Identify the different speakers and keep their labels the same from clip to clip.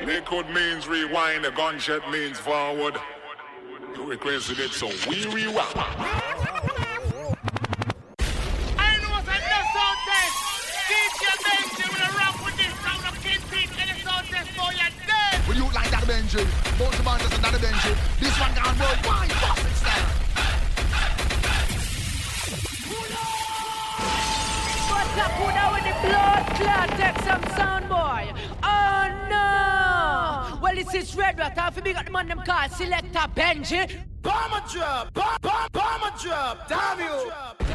Speaker 1: Liquid means rewind, a gunshot means forward. You requested it, so we rewind.
Speaker 2: I know what's in the sound test. DJ Benji will rap with this round of Kingpin in the sound test for your dead.
Speaker 3: Will you like that Benji? Both the bandits and that Benji. This one gone worldwide, boxing style.
Speaker 4: What's up, who now with the blood clot? Take some sound, boy. Oh no! Well, this is Red Rat. I feel we got the man them called Selector Benji.
Speaker 2: Bomber drop, bomber drop, damn you.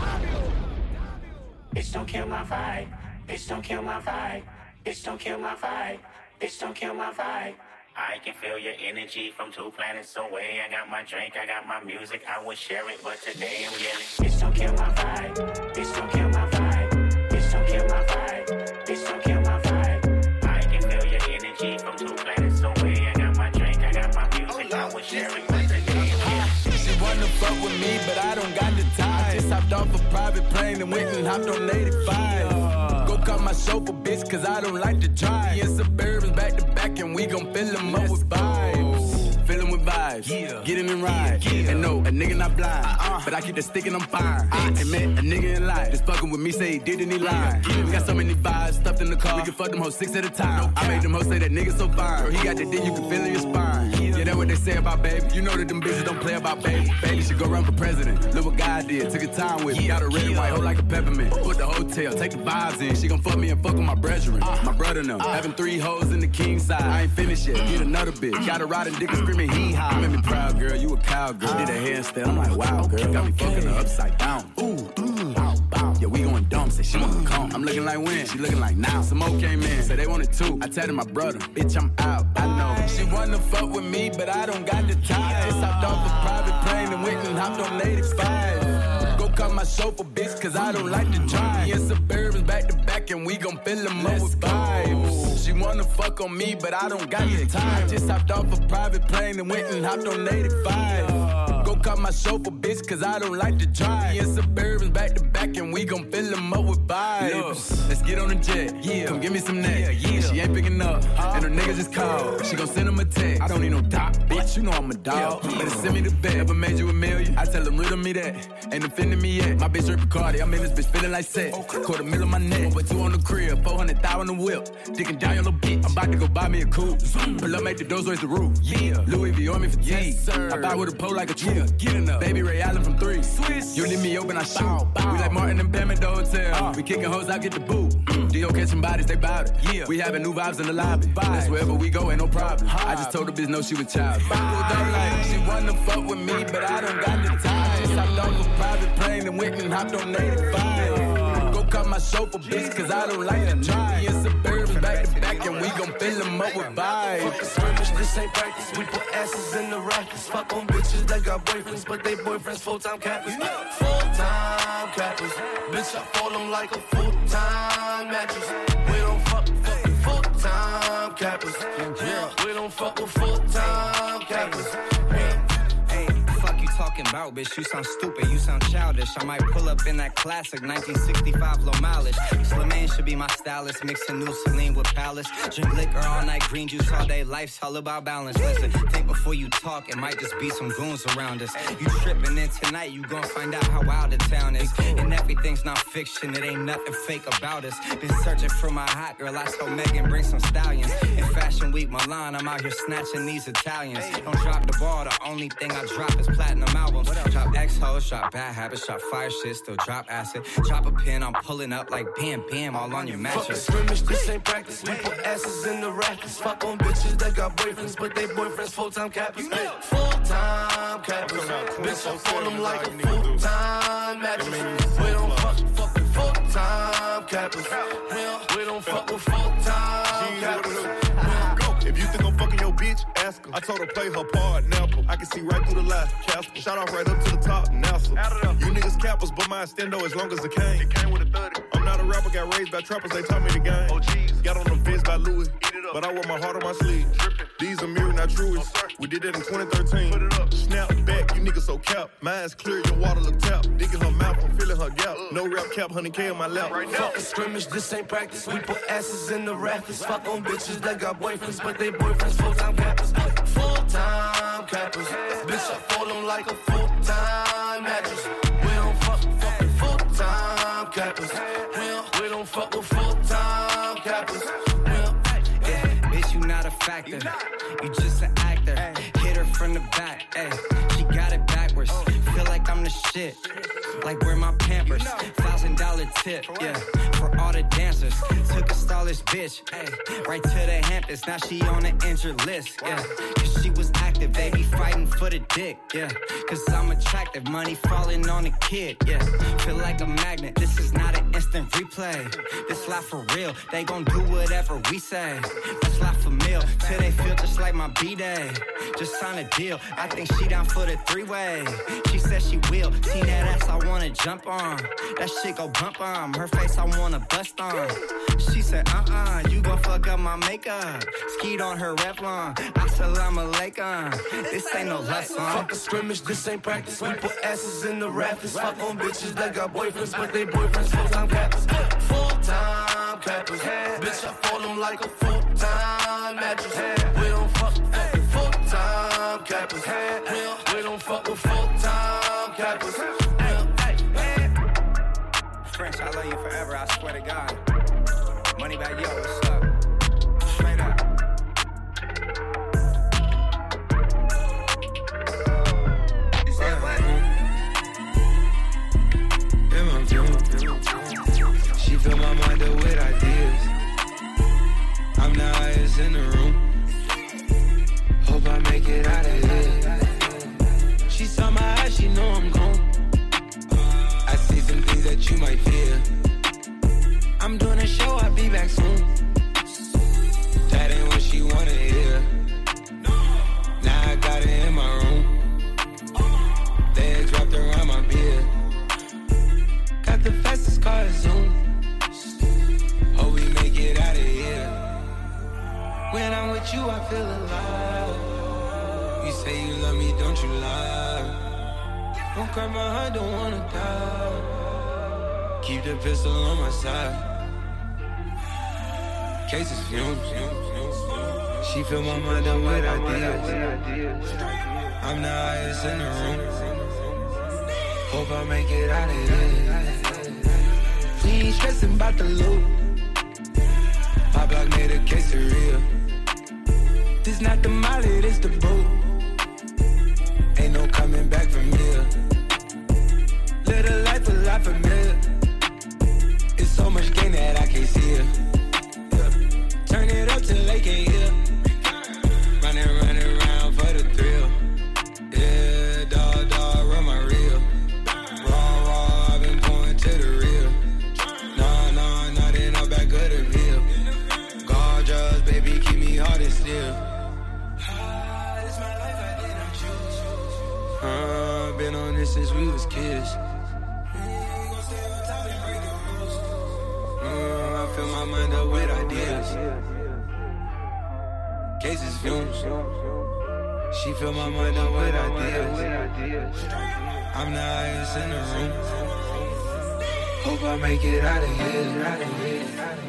Speaker 5: Bitch, don't kill my vibe. Bitch, don't kill my vibe. Bitch, don't kill my vibe. Bitch, don't kill my vibe. I can feel your energy from 2 planets away. I got my drink, I got my music. I would share it, but today I'm yelling. Bitch, don't kill my vibe. Bitch, don't kill my vibe. Bitch, don't kill my vibe. Bitch, don't kill my vibe. I can feel your energy from 2 planets away. I got my drink, I got my music. I would share it, but today I'm yelling.
Speaker 6: She wanna fuck with me, but I don't got the time. I just hopped off a private plane and went and hopped on 85. Go cut my chauffeur, bitch, cause I don't like to drive. In Suburbans back to back, and we gon' fill them up with vibes. Fill them with vibes, get in and ride. And no, a nigga not blind, but I keep the stick and I'm fine. I met a nigga in life, just fucking with me, say he did and he lied. We got so many vibes stuffed in the car, we can fuck them hoes 6 at a time. I made them hoes say that nigga so fine, girl, he got the dick, you can feel in your spine. Yeah, that's what they say about baby. You know that them bitches don't play about baby. Baby should go run for president. Look what God did, took a time with me. Got a red and white hoe like a peppermint. Put the hotel, take the vibes in. She gon' fuck me and fuck with my brethren. My brother and them, having 3 hoes in the king side. I ain't finished yet, get another bitch. Got a riding dick and screaming hee-haw. You made me proud, girl, you a cowgirl. Did a handstand, I'm like, wow, girl. Got me fucking her upside down. Ooh, bow, bow. Yeah, we going dumb, say she wanna come. I'm looking like when, she looking like now. Some more came in, say they wanted 2. I tapped my brother, bitch, I'm out, I know. She wanna fuck with me, but I don't got the time. I just hopped off a private plane and went and hopped on 85. Go cut my chauffeur, bitch, cause I don't like to drive. In Suburbans back to back, and we gon' fill them up with vibes. She wanna fuck on me, but I don't got the time. Just hopped off a private plane and went and hopped on 85. Go cut my chauffeur, bitch, cause I don't like to drive. In Suburbans back to back, and we gon' fill them up with vibes. Let's get on the jet, come give me some neck. She ain't picking up, and her niggas just called. She gon' send him a text. I don't need no doc, bitch, you know I'm a dog. Better send me the bet, ever made you $1 million? I tell them riddle me that, ain't offending me yet. My bitch Rick Cardi, I'm in this bitch feeling like sex. $250,000 on my neck, but 2 on the crib, 400,000 on the whip. Dicking down your little bitch, I'm about to go buy me a coupe. Pull up, make the doors raise the roof. Louis V on me for tea. I buy with a pole like a tree. Get enough. Baby Ray Allen from 3. Swiss. You leave me open, I shoot. We like Martin and Pam at the hotel. We kicking hoes, I get the boot. D.O. catching bodies, they bout it. We having new vibes in the lobby. That's wherever we go, ain't no problem. I just told the bitch no, she was child. She wanna fuck with me, but I don't got the time. Just hopped off a private plane and went and hopped on 85. Go cut my chauffeur, bitch, cause I don't like to drive. In Suburbans back to back, and we gon' fill them up with vibes.
Speaker 7: Fuck a skirmish, this ain't practice. We put asses in the rackets. Fuck on bitches that got boyfriends, but they boyfriends full-time cappers. Full-time cappers. Bitch, I fall them like a full-time mattress. We don't fuck full-time cappers. We don't fuck with full-time cappers.
Speaker 8: Talking about, bitch, you sound stupid, you sound childish. I might pull up in that classic 1965 low mileage. Slimane should be my stylist, mixing new Celine with Palace. Drink liquor all night, green juice all day, life's all about balance. Listen, think before you talk, it might just be some goons around us. You tripping, then tonight you gon' find out how wild the town is. And everything's not fiction, it ain't nothing fake about us. Been searching for my hot girl, I told Megan bring some stallions. In Fashion Week Milan, I'm out here snatching these Italians. Don't drop the ball, the only thing I drop is platinum albums. Drop X-Hoes, drop Bad Habits, drop Fire Shit, still drop Acid. Drop a pin, I'm pulling up like bam, bam, all on your mattress.
Speaker 7: Fuck a skirmish, this ain't practice. We put asses in the rackets. Fuck on bitches that got boyfriends, but they boyfriends full-time cappers. Full-time cappers. Bitch, I fall them like a full-time mattress. We don't fuck with full-time cappers. We don't fuck with full-time cappers.
Speaker 9: If you think I'm fucking your bitch, ask her. I told her play her part, Napper. I can see right through the lie, Casper. Shout out right up to the top, NASA. You niggas cappers, but mine stendo as long as it came. It came with a 30. I'm not a rapper, got raised by trappers, they taught me the game. Oh, got on them Vince by Louis, but I wear my heart on my sleeve. These are mirror, not truest. We did that in 2013. Put it up. Snap back, you niggas so cap. Mine's clear, your water look tap. Digging her mouth, I'm feeling her gap. No rap cap, 100K in my lap.
Speaker 7: Right now. Fuck a scrimmage, this ain't practice. We put asses in the rafters. Fuck on bitches that got boyfriends, but they boyfriends full-time cappers. Full-time cappers. Bitch, I fold them like a full-time mattress. We don't fuck full-time cappers. We don't fuck with full-time cappers.
Speaker 8: Bitch, you not a factor. You just an actor. Hit her from the back. Ay. She got it backwards. Feel like I'm the shit. Like where my Pampers. $1,000 tip. Yeah. For all the dancers. Took a stylish bitch. Ay. Right to the Hamptons. Now she on the injured list. Yeah. Cause she was active. They be fighting for the dick. Yeah. Cause I'm attractive. Money falling on the kid. Yeah. Feel like a magnet. This is not an instant replay. This life for real. They gon' do whatever we say. That's life for meal. Till they feel just like my B-Day. Just sign a deal. I think she down for the three-way. She said she will. See that ass I wanna jump on. That shit go bump on. Her face I wanna bust on. She said, you gon' fuck up my makeup. Skied on her Revlon. Assalamu alaikum. This ain't no love song.
Speaker 7: Fuck a scrimmage, this ain't practice. We put asses in the rafters. Fuck on bitches that got boyfriends, but they boyfriends full-time cappers. Full-time cappers. Bitch, I fold them like a full-time mattress. We don't fuck full-time cappers. We don't fuck with full-time cappers.
Speaker 8: French, I love you forever, I swear to God. Money back, yo, what's up? Straight up.
Speaker 6: She fill my mind up with ideas. I'm the highest in the room. Hope I make it out of here. She saw my eyes, she know I'm gone. I see some things that you might fear. I'm doing a show, I'll be back soon. That ain't what she wanna hear. Now I got it in my room. Legs wrapped around my beard. Got the fastest car, Zoom. Hope we make it out of here. When I'm with you, I feel alive. You say you love me, don't you lie? Don't cry my heart, don't wanna die. Keep the pistol on my side. Cases fumes. She fill my mind up with ideas. I'm the highest in the room. Hope I make it out of here. We ain't stressing about the loot. My block made a quesadilla. This not the molly, this the boot. Ain't no coming back from here. Live a life a lot familiar. It's so much gain that I can't see it. Yeah. Turn it up till they can't hear. Running around for the thrill. Yeah, dog, run my reel. Raw, I've been going to the real. Nah, they no back of the veil. Gorgeous, baby, keep me hard and still. This my life, I did not choose. Been on this since we was kids. I fill my mind up with ideas. Cases fumes. She fill my mind up with ideas. I'm the highest in the room. Hope I make it out of here.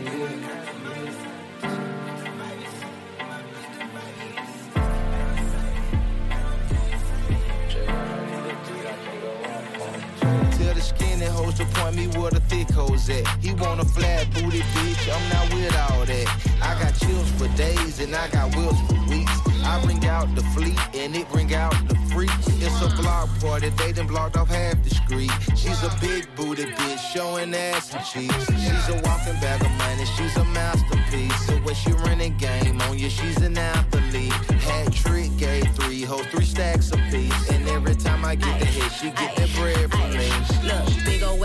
Speaker 10: Skinny hoes to point me where the thick hoes at. He want a flat booty bitch, I'm not with all that. I got chills for days and I got wills for weeks. I bring out the fleet and it bring out the freaks. It's a block party, they done blocked off half the street. She's a big booty bitch, showing ass and cheeks. She's a walking bag of money, she's a masterpiece. The way she running game on you, she's an athlete. Hat trick, gave 3 hoes, 3 stacks apiece. And every time I get the hit, she get that bread from me.
Speaker 11: Look, big ol' ass is heavy.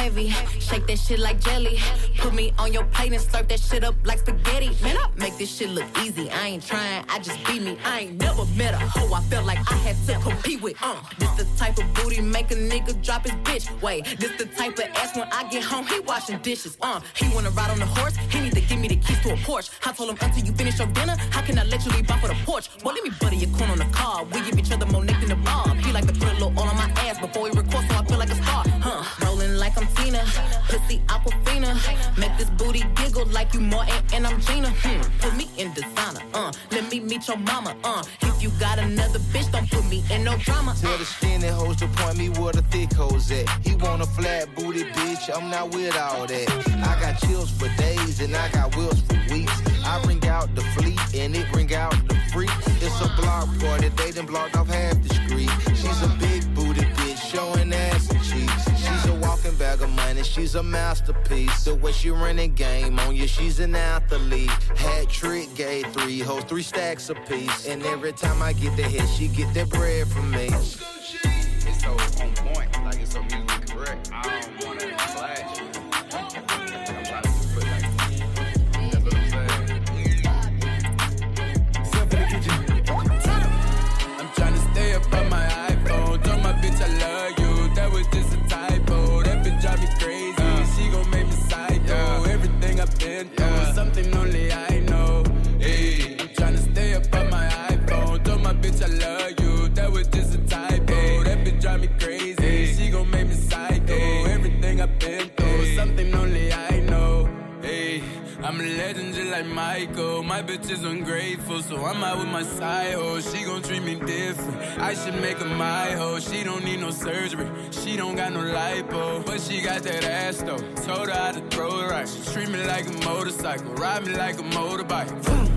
Speaker 11: heavy. Shake that shit like jelly. Put me on your plate and slurp that shit up like spaghetti. Man, I make this shit look easy. I ain't trying, I just be me. I ain't never met a hoe I felt like I had to compete with. This the type of booty make a nigga drop his bitch. Wait, this the type of ass when I get home, he washing dishes. He wanna ride on the horse, he need to give me the keys to a Porsche. I told him until you finish your dinner, how can I let you leave off of the porch? Well, let me butter your corn on the car. We give each other more neck than the Bob. He like to put a little oil on my ass before he records, so I feel like a star. Rolling like I'm Tina, pussy Aquafina. Make this booty giggle like you Martin and I'm Gina. Put me in designer. Let me meet your mama. If you got another bitch, don't put me in no drama.
Speaker 10: Tell the skinny hoes to point me where the thick hoes at. He want a flat booty bitch, I'm not with all that. I got chills for days and I got wheels for weeks. I bring out the fleet and it bring out the freak. It's a block party, they done blocked off half the street. She's a big booty bitch, showing ass and cheeks. She's a walking bag of money, she's a masterpiece. The way she running game on you, she's an athlete. Hat trick, gave 3 hoes, 3 stacks apiece. And every time I get the hit, she get that bread from me.
Speaker 12: It's so on point, like it's so musically correct. I don't wanna clash. I'm trying to put like, that's what I'm saying.
Speaker 6: Step in the kitchen. I'm trying to stay up on my iPhone. Told my bitch I love you. That was just a typo. That bitch drive me crazy. She gon' make me psycho. Everything I've been through, something only I know. Hey, I'm trying to stay up on my iPhone. Told my bitch I love you. That was just a typo. That bitch drive me crazy. She gon' make me psycho. Everything I've been through, something only I know. Hey, I'm a legend just like Michael. My bitch is ungrateful, so I'm out with my side hoe. She gon' treat me different. I should make her my hoe. She don't need no surgery. She don't got no lipo, but she got that ass though. Told her how to throw it right. She treat me like a motorcycle, ride me like a motorbike.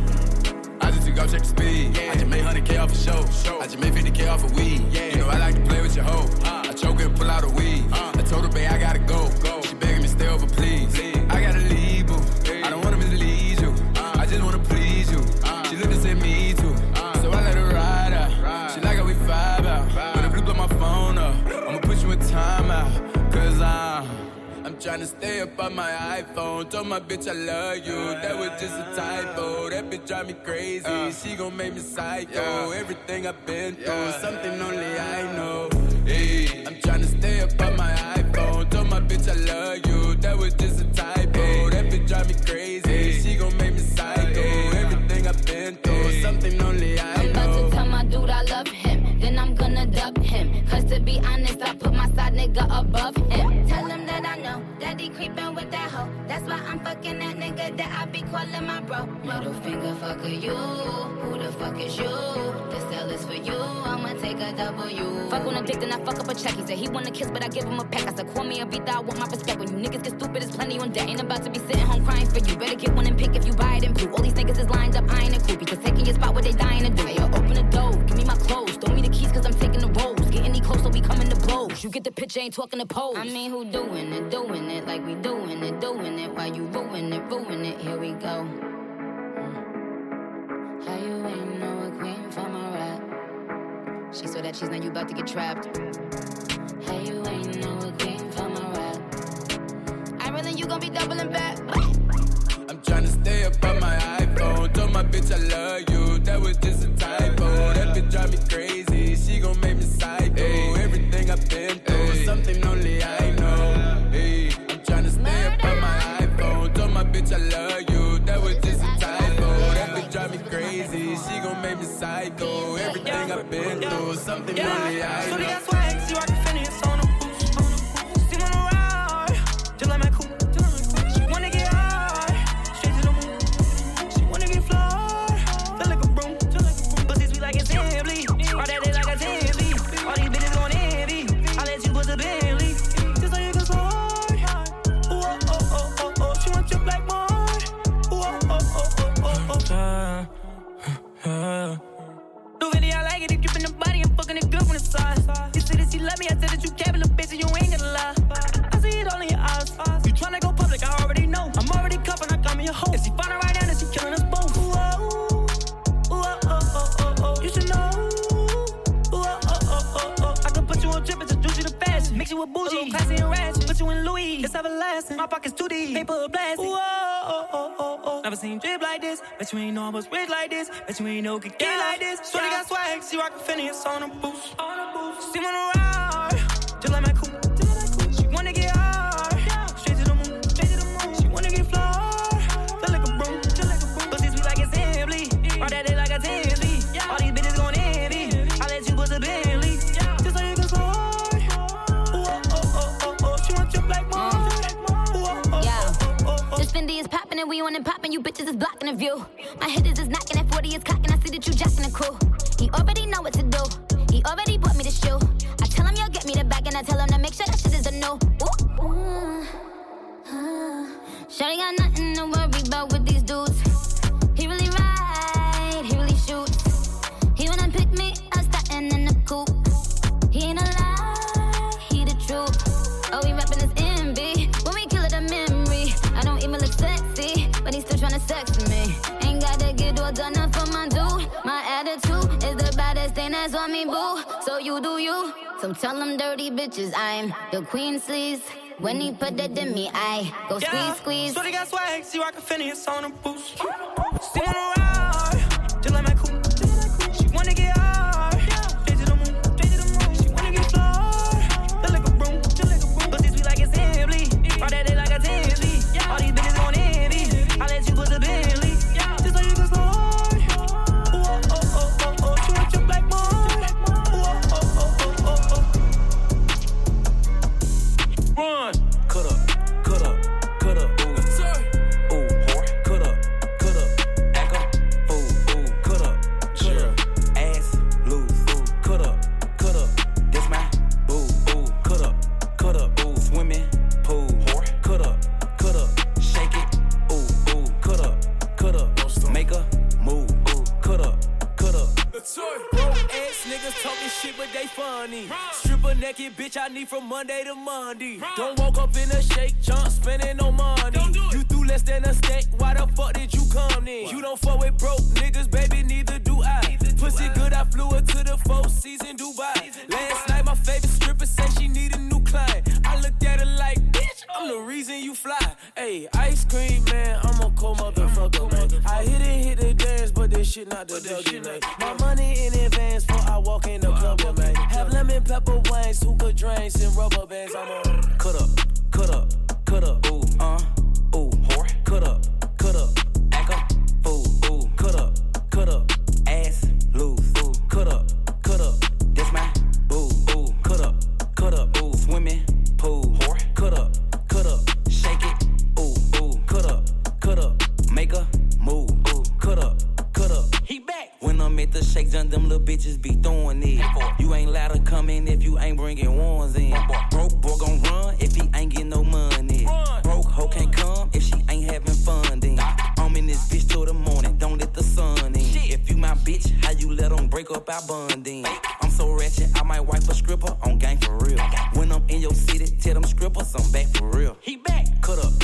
Speaker 6: I just took off, check the speed. I just made 100K off a show. I just made 50K off a weed. You know I like to play with your hoe. I choke her and pull out a weed. I told her, babe, I gotta go. She begging me stay over, please. I gotta leave, boo. I don't wanna mislead you. I just wanna please you. She looked and said me too. So I let her ride out. She like how we vibe out. When the blue blow my phone up, I'ma put you in timeout. Cause I'm trying to stay up on my iPhone. Told my bitch I love you. That was just a typo. That bitch drive me crazy. She gon' make me psycho. Everything I've been through, something only I know. Hey, I'm trying to stay up on my iPhone. Told my bitch I love you. That was just a typo. That bitch drive me crazy. She gon' make me psycho. Everything I've been through, something only I know.
Speaker 13: I'm about to tell my dude I love him. Then I'm gonna dub him. Cause to be honest, I put my side nigga above him. Tell him that I know that he creepin' with that hoe. That's why I'm fucking that nigga that I be calling my bro. Middle finger fucker you. Who the fuck is you? This L is for you. I'ma take a W. Fuck on a dick, then I fuck up a check. He said he wanna kiss, but I give him a peck. I said call me a beat, I want my respect. When you niggas get stupid, there's plenty on deck. Ain't about to be sitting home crying for you. Better get one and pick if you buy it in blue. All these niggas is lined up, eyeing it creepy. Cause taking your spot what they dying to do. Hey, yo, open the door, give me my clothes. Throw me the keys cause I'm taking the rolls. Get any closer, we coming to blows. You get the picture, ain't talking to pose. I mean, who doing it like we doing it. Why you ruin it, here we go. How you ain't know a queen from a rap?
Speaker 11: She saw that cheese, now you about to get trapped.
Speaker 13: How you ain't know a queen from a rap?
Speaker 11: I really you gon' be doubling back.
Speaker 6: I'm tryna stay up on my iPhone. Told my bitch I love you. That was just a typo. That bitch drive me crazy. She gon' make me psycho. Everything I've been through, something only I know. Hey, I'm tryna stay up on my iPhone. Told my bitch I love you. That was just a typo. That bitch drive me crazy. She gon' make me psycho. Everything I've been through, something only I know.
Speaker 14: So they got swag, see I can finish on them boots. See on the ride, just like my coupe. She wanna get high, straight to the moon. She wanna get flawed, feel like a broom. Pussy sweet like a Simply, all that day like a Simply. All these bitches gon' envy, I let you put the Bentley. Just so you can slide. Ooh, oh, oh, oh, oh, she want you like mine. Ooh, oh, oh, oh, oh, oh, oh. New video, I like it, if you in the body, I'm fucking it good from the side. You see the Never seen drip like this. Bet you ain't know I was rich like this. Bet you ain't know could get like this. Shorty got swag, she rockin' Phineas on the boost. She wanna ride, just like my coupe. She wanna get hard, straight to the moon. She wanna get floored, just like a broom. Pussy sweet like it's Emily, ride that day like a Timmy. All these bitches gon' envy. I let you put the Bentley, just so you can slow. She want trip like mine.
Speaker 13: This Fendi is poppin' and we on and poppin'. You bitches is blocking the view. My hitters is knocking at 40 is cocking. I see that you jacking the crew. He already know what to do. He already bought me the shoe. I tell him you'll get me the bag and I tell him to make sure that shit is a no. Shawty got nothing to worry about with these dudes. He really ride, he really shoots. He wanna pick me up, startin' in the coupe. He ain't a lie, he the truth. Oh, he rapping his MB. When we kill it a memory. I don't even look sexy, but he's still tryna sex me. Ain't gotta get all done up for my dude. My attitude is the baddest thing that's on me, boo. So you do you. So tell them dirty bitches I'm the queen sleaze. When he put that in me, I go squeeze.
Speaker 14: Shorty got swag, she rockin' Phineas on the boost. She wanna ride, just like my coupe. She wanna get hard, straight to the moon. She wanna get floored, just like a broom. Pussy sweet like it's Emily, ride that day like a Timmy. All these bitches gon' envy. I let you put the Bentley, just so you can slow. She want trip like mine. Run. Cut up, ooh. Ooh, whore. Cut up, back up, ooh, cut up, ass loose, ooh, cut up, this my boo, ooh, cut up, ooh, swimming pool, whore, cut up, shake it, ooh, cut up, make a move, ooh, cut up. Broke ass niggas talking shit, but they funny. Stripper naked bitch, I need from Monday to Monday. Don't walk up in a shake, jump, spending no money. You threw less than a steak, why the fuck did you come in? You don't fuck with broke niggas, baby, neither do I. Pussy good, I flew her to the 4 season Dubai. Last night, my favorite stripper said she need a new client. I looked at her like, bitch, I'm the reason you fly. Hey, ice cream, man, I'm a cold motherfucker, man. I hit the dance, but this shit not the Dougie, man. My money in advance before I walk in the club, man. Have lemon pepper wings, hookah drinks, and rubber bands. I'm on. Cut up, ooh, whore. Cut up, back up, ooh, cut up, ass loose, ooh, cut up, this my boo, ooh, cut up, ooh, swimming pool, whore. Cut up, shake it, ooh, cut up, make a move, ooh, cut up. He back. When I'm at the shake, them little bitches be throwing it. You ain't allowed to come in if you ain't bringing ones in. Broke boy gon' run if he ain't getting no money. Broke hoe can't come if she ain't having fun then. I'm in this bitch till the morning, don't let the sun in. If you my bitch, how you let them break up our bonding? I'm so ratchet, I might wipe a stripper on gang for real. When I'm in your city, tell them strippers I'm back for real. He back. Cut up,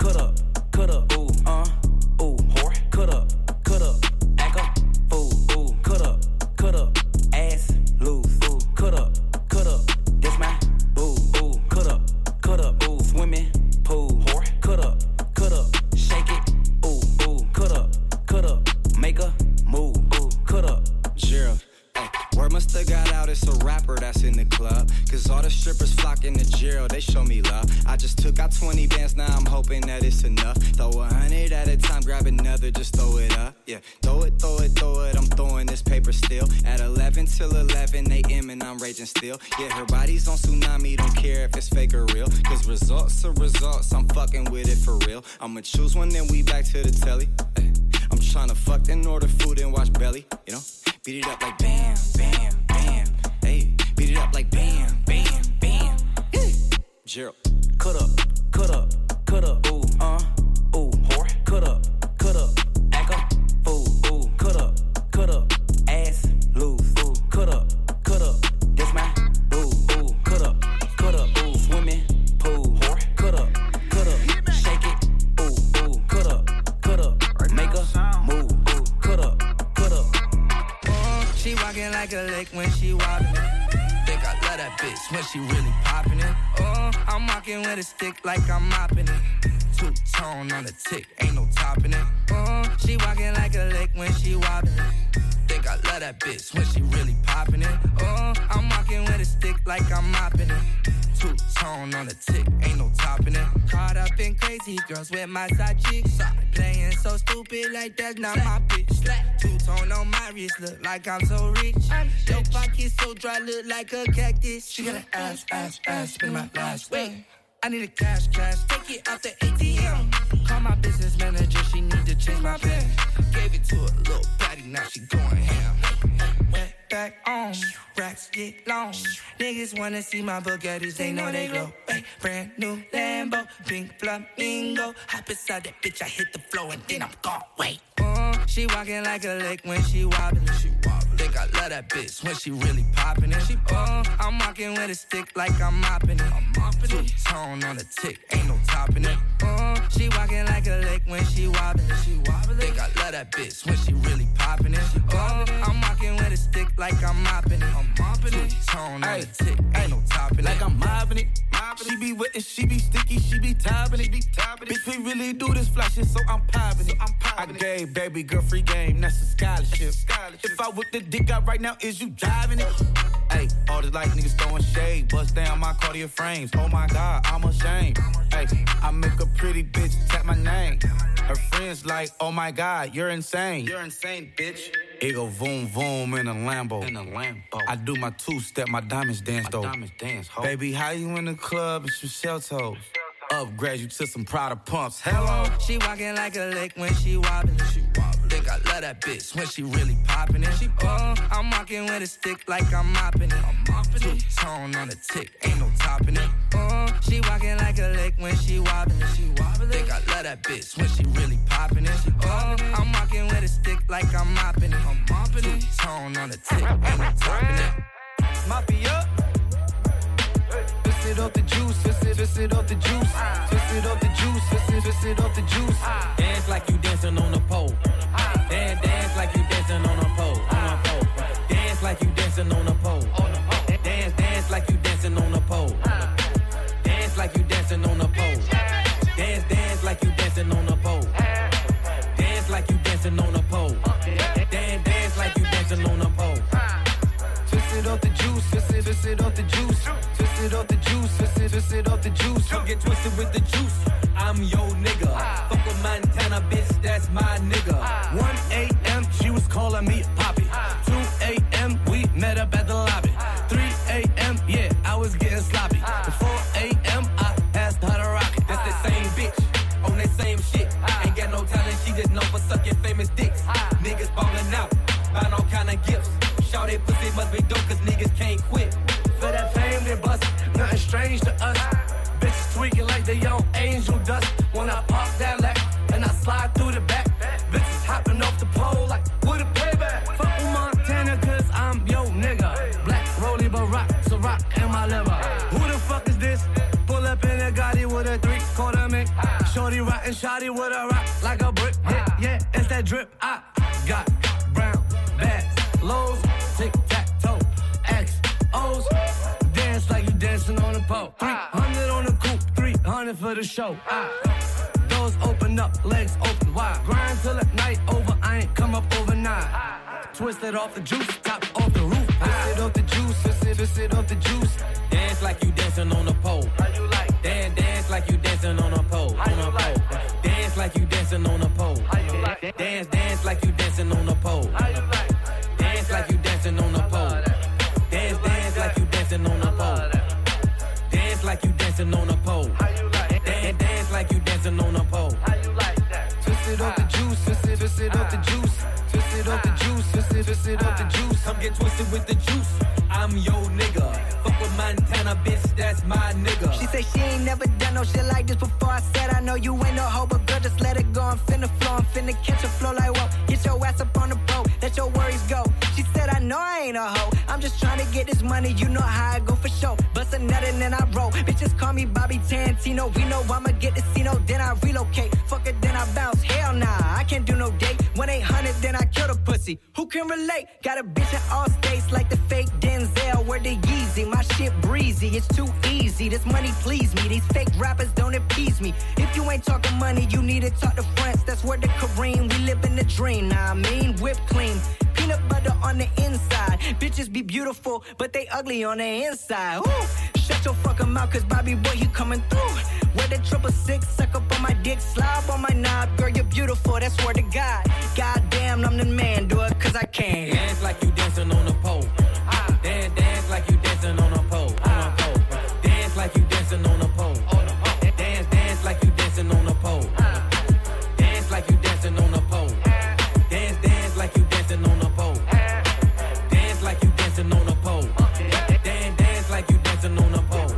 Speaker 14: ooh, whore. Cut up, back up, ooh, cut up, ass loose, ooh, cut up, this my boo, ooh, cut up, ooh, swimming pool, whore. Cut up, shake it, ooh, cut up, make a move, ooh, cut up.
Speaker 8: Gerald. Word must have got out, it's a rapper that's in the club. Cause all the strippers flocking to Gerald, they show me love. I just took out 20 bands, now I'm hoping that it's enough. Throw 100 at a time, grab another, just throw it up. Yeah, throw it, I'm throwing this paper still. At 11 till 11 a.m. and I'm raging still. Yeah, her body's on tsunami, don't care if it's fake or real. Cause results are results, I'm fucking with it for real. I'ma choose one, then we back to the telly. I'm tryna fuck, then order food and watch belly, you know? Beat it up like bam, bam, bam. Hey, beat it up like bam, bam, bam. Gerald, cut up, ooh, whore. Cut up, back up, ooh, cut up, ass loose, ooh, cut up, this my boo, ooh, cut up, ooh, swimming pool, whore. Cut up, shake it, ooh, cut up, make a move, ooh, cut up.
Speaker 15: She walking like a lake when she wobbling. Think I love that bitch when she really popping it. Oh, I'm walking with a stick like I'm mopping it. Two-tone on the tick, ain't no topping it. She walking like a lick when she wobbling. Think I love that bitch when she really popping it. I'm walking with a stick like I'm mopping it. Two-tone on the tick, ain't no topping it. Caught up in crazy girls with my side chicks. Playing so stupid like that's not my bitch. Two-tone on my wrist, look like I'm so rich. Your pocket so dry, look like a cactus. She got an ass, spin my last way. I need a cash, take it out the ATM. Call my business manager, she need to change my pen. Gave it to a little patty, now she going ham. Went back on, racks get long. Niggas wanna see my Bugattis, they know they glow. Ay, brand new Lambo, pink flamingo. Hop inside that bitch, I hit the floor and then I'm gone. Wait. She walking like a lake when she wobbling. Think I love that bitch when she really popping it. I'm walking with a stick like I'm mopping it. Two-tone on the tick, ain't no topping it. She walking like a lake when she wobbling. Think I love that bitch when she really popping it. I'm walking with a stick like I'm mopping it. Two-tone on the tick, ain't no topping it.
Speaker 16: Like I'm mopping it. She be wet and she be sticky, she be topping it. Bitch, we really do this fly shit, so I'm popping it. I gave baby girl free game, that's a scholarship. If I whip the dick out right now, is you driving it? Hey, all this like niggas throwing shade, bust down my Cartier frames. Oh my God, I'm ashamed. Hey, I make a pretty bitch tap my name. Her friends like, oh my God, you're insane. You're insane, bitch. It go voom voom in a Lambo. I do my two-step, my diamonds dance though. Baby, how you in the club and some shell toes? Upgrade you to some Prada pumps. Hello.
Speaker 15: She walking like a lake when she wobbling. Think I love that bitch when she really popping it. I'm walking with a stick like I'm mopping it. Two-tone on the tick, ain't no topping it. She walking like a lake when she wobbling. Think I love that bitch when she really popping it. I'm walking with a stick like I'm mopping it. Two-tone on the tick, ain't no topping it.
Speaker 16: Mafia. Twist it off the juice, twist it off the juice, twist it off the juice, twist it off the juice.
Speaker 17: Dance like you dancing on a pole. Dance like you dancing on a pole. Dance like you dancing on a pole. Dance like you dancing on a pole. Dance like you dancing on a pole. Dance like you dancing on a pole. Dance like you dancing on a pole. Dance like you dancing on a pole.
Speaker 16: Twist it off the juice, twist it off the juice, twist it off the juice, twist it off the juice.
Speaker 17: Don't get twisted with the juice. I'm your nigga. Fuck with Montana, bitch, that's my nigga.
Speaker 16: 1 a.m. she was calling me Poppy. 2 a.m. we met up at the lobby. 3 a.m. yeah, I was getting sloppy. 4 a.m. I asked her to rock it.
Speaker 17: That's the same bitch on that same shit. Ain't got no talent, she just known for sucking famous dicks. Niggas ballin' out, buying all kind of gifts. Shout that pussy must be dope cause niggas can't quit.
Speaker 16: For that fame they bust, nothing strange to us. Bitches tweaking like they on angel dust. When I pop that lack and I slide through the back, bitches hopping off the pole like with a payback. Fuck with Montana cause I'm yo nigga. Black Rollie Barack, so rock in my liver. Who the fuck is this? Pull up in a Gotti with a 3/4 mink. Shorty rockin' shotty with a rock like a brick. Yeah, it's that drip. I got brown bags, lows, tic-tac-toe, XOs. Dance like you dancing on a pole. 300 on the coupe, 300 for the show. Doors open up, legs open wide. Grind till the night over, I ain't come up overnight. Twist it off the juice, top off the roof. Twist it off the juice, twist it off the juice.
Speaker 17: Dance like you dancing on a pole.
Speaker 16: How you like?
Speaker 17: Dance like you dancing on a pole.
Speaker 16: How you like?
Speaker 17: Dance like you dancing on a pole.
Speaker 16: How you like?
Speaker 17: Dance like you dancing on a pole.
Speaker 16: How you like?
Speaker 17: Dance like you dancing on a pole. Dance like you dancing on a pole. Dance like you dancing on a pole.
Speaker 16: How you like?
Speaker 17: Dance like you dancing on a pole.
Speaker 16: How you like that? Twist it off the juice, twist it off the juice, twist it off the juice, twist it off the juice.
Speaker 17: Come get twisted with the juice. I'm your nigga. Fuck with Montana, bitch, that's my nigga.
Speaker 18: She said she ain't never done no shit like this before. I said I know you ain't no hoe, but girl, just let it go. I'm finna flow, I'm finna catch a flow like whoa. Get your ass up on the boat, let your worries go. She said I know I ain't a hoe, I'm just trying to get this money, you know how I go for show. Bust a nut and then I roll, bitches call me Bobby Tarantino. We know I'ma get the Cino, then I relocate. Fuck it, then I bounce, hell nah, I can't do no date. 1-800, then I kill the pussy. pussy. Who can relate? Got a bitch in all states like the fake Denzel. Where the Yeezy, my shit breezy. It's too easy. This money please me. These fake rappers don't appease me. If you ain't talking money, you need to talk to France. That's where the Kareem. We live in the dream. Nah, I mean whipped cream. Peanut butter on the inside. Bitches be beautiful, but they ugly on the inside. Woo! Shut your fucking mouth, cause Bobby boy, he coming through. Wear the 666, suck up on my dick, slob on my knob. Girl, you're beautiful, that's word to God. Goddamn, I'm the man, do it cause I can.
Speaker 17: Dance like you dancing on a pole. Dance like you dancing on a pole. Dance like you dancing on a pole. Dance like you dancing on a pole. Dance like you dancing on a pole. Dance like you dancing on a pole. Dance like you dancing on a pole. Dance like you dancing on a pole.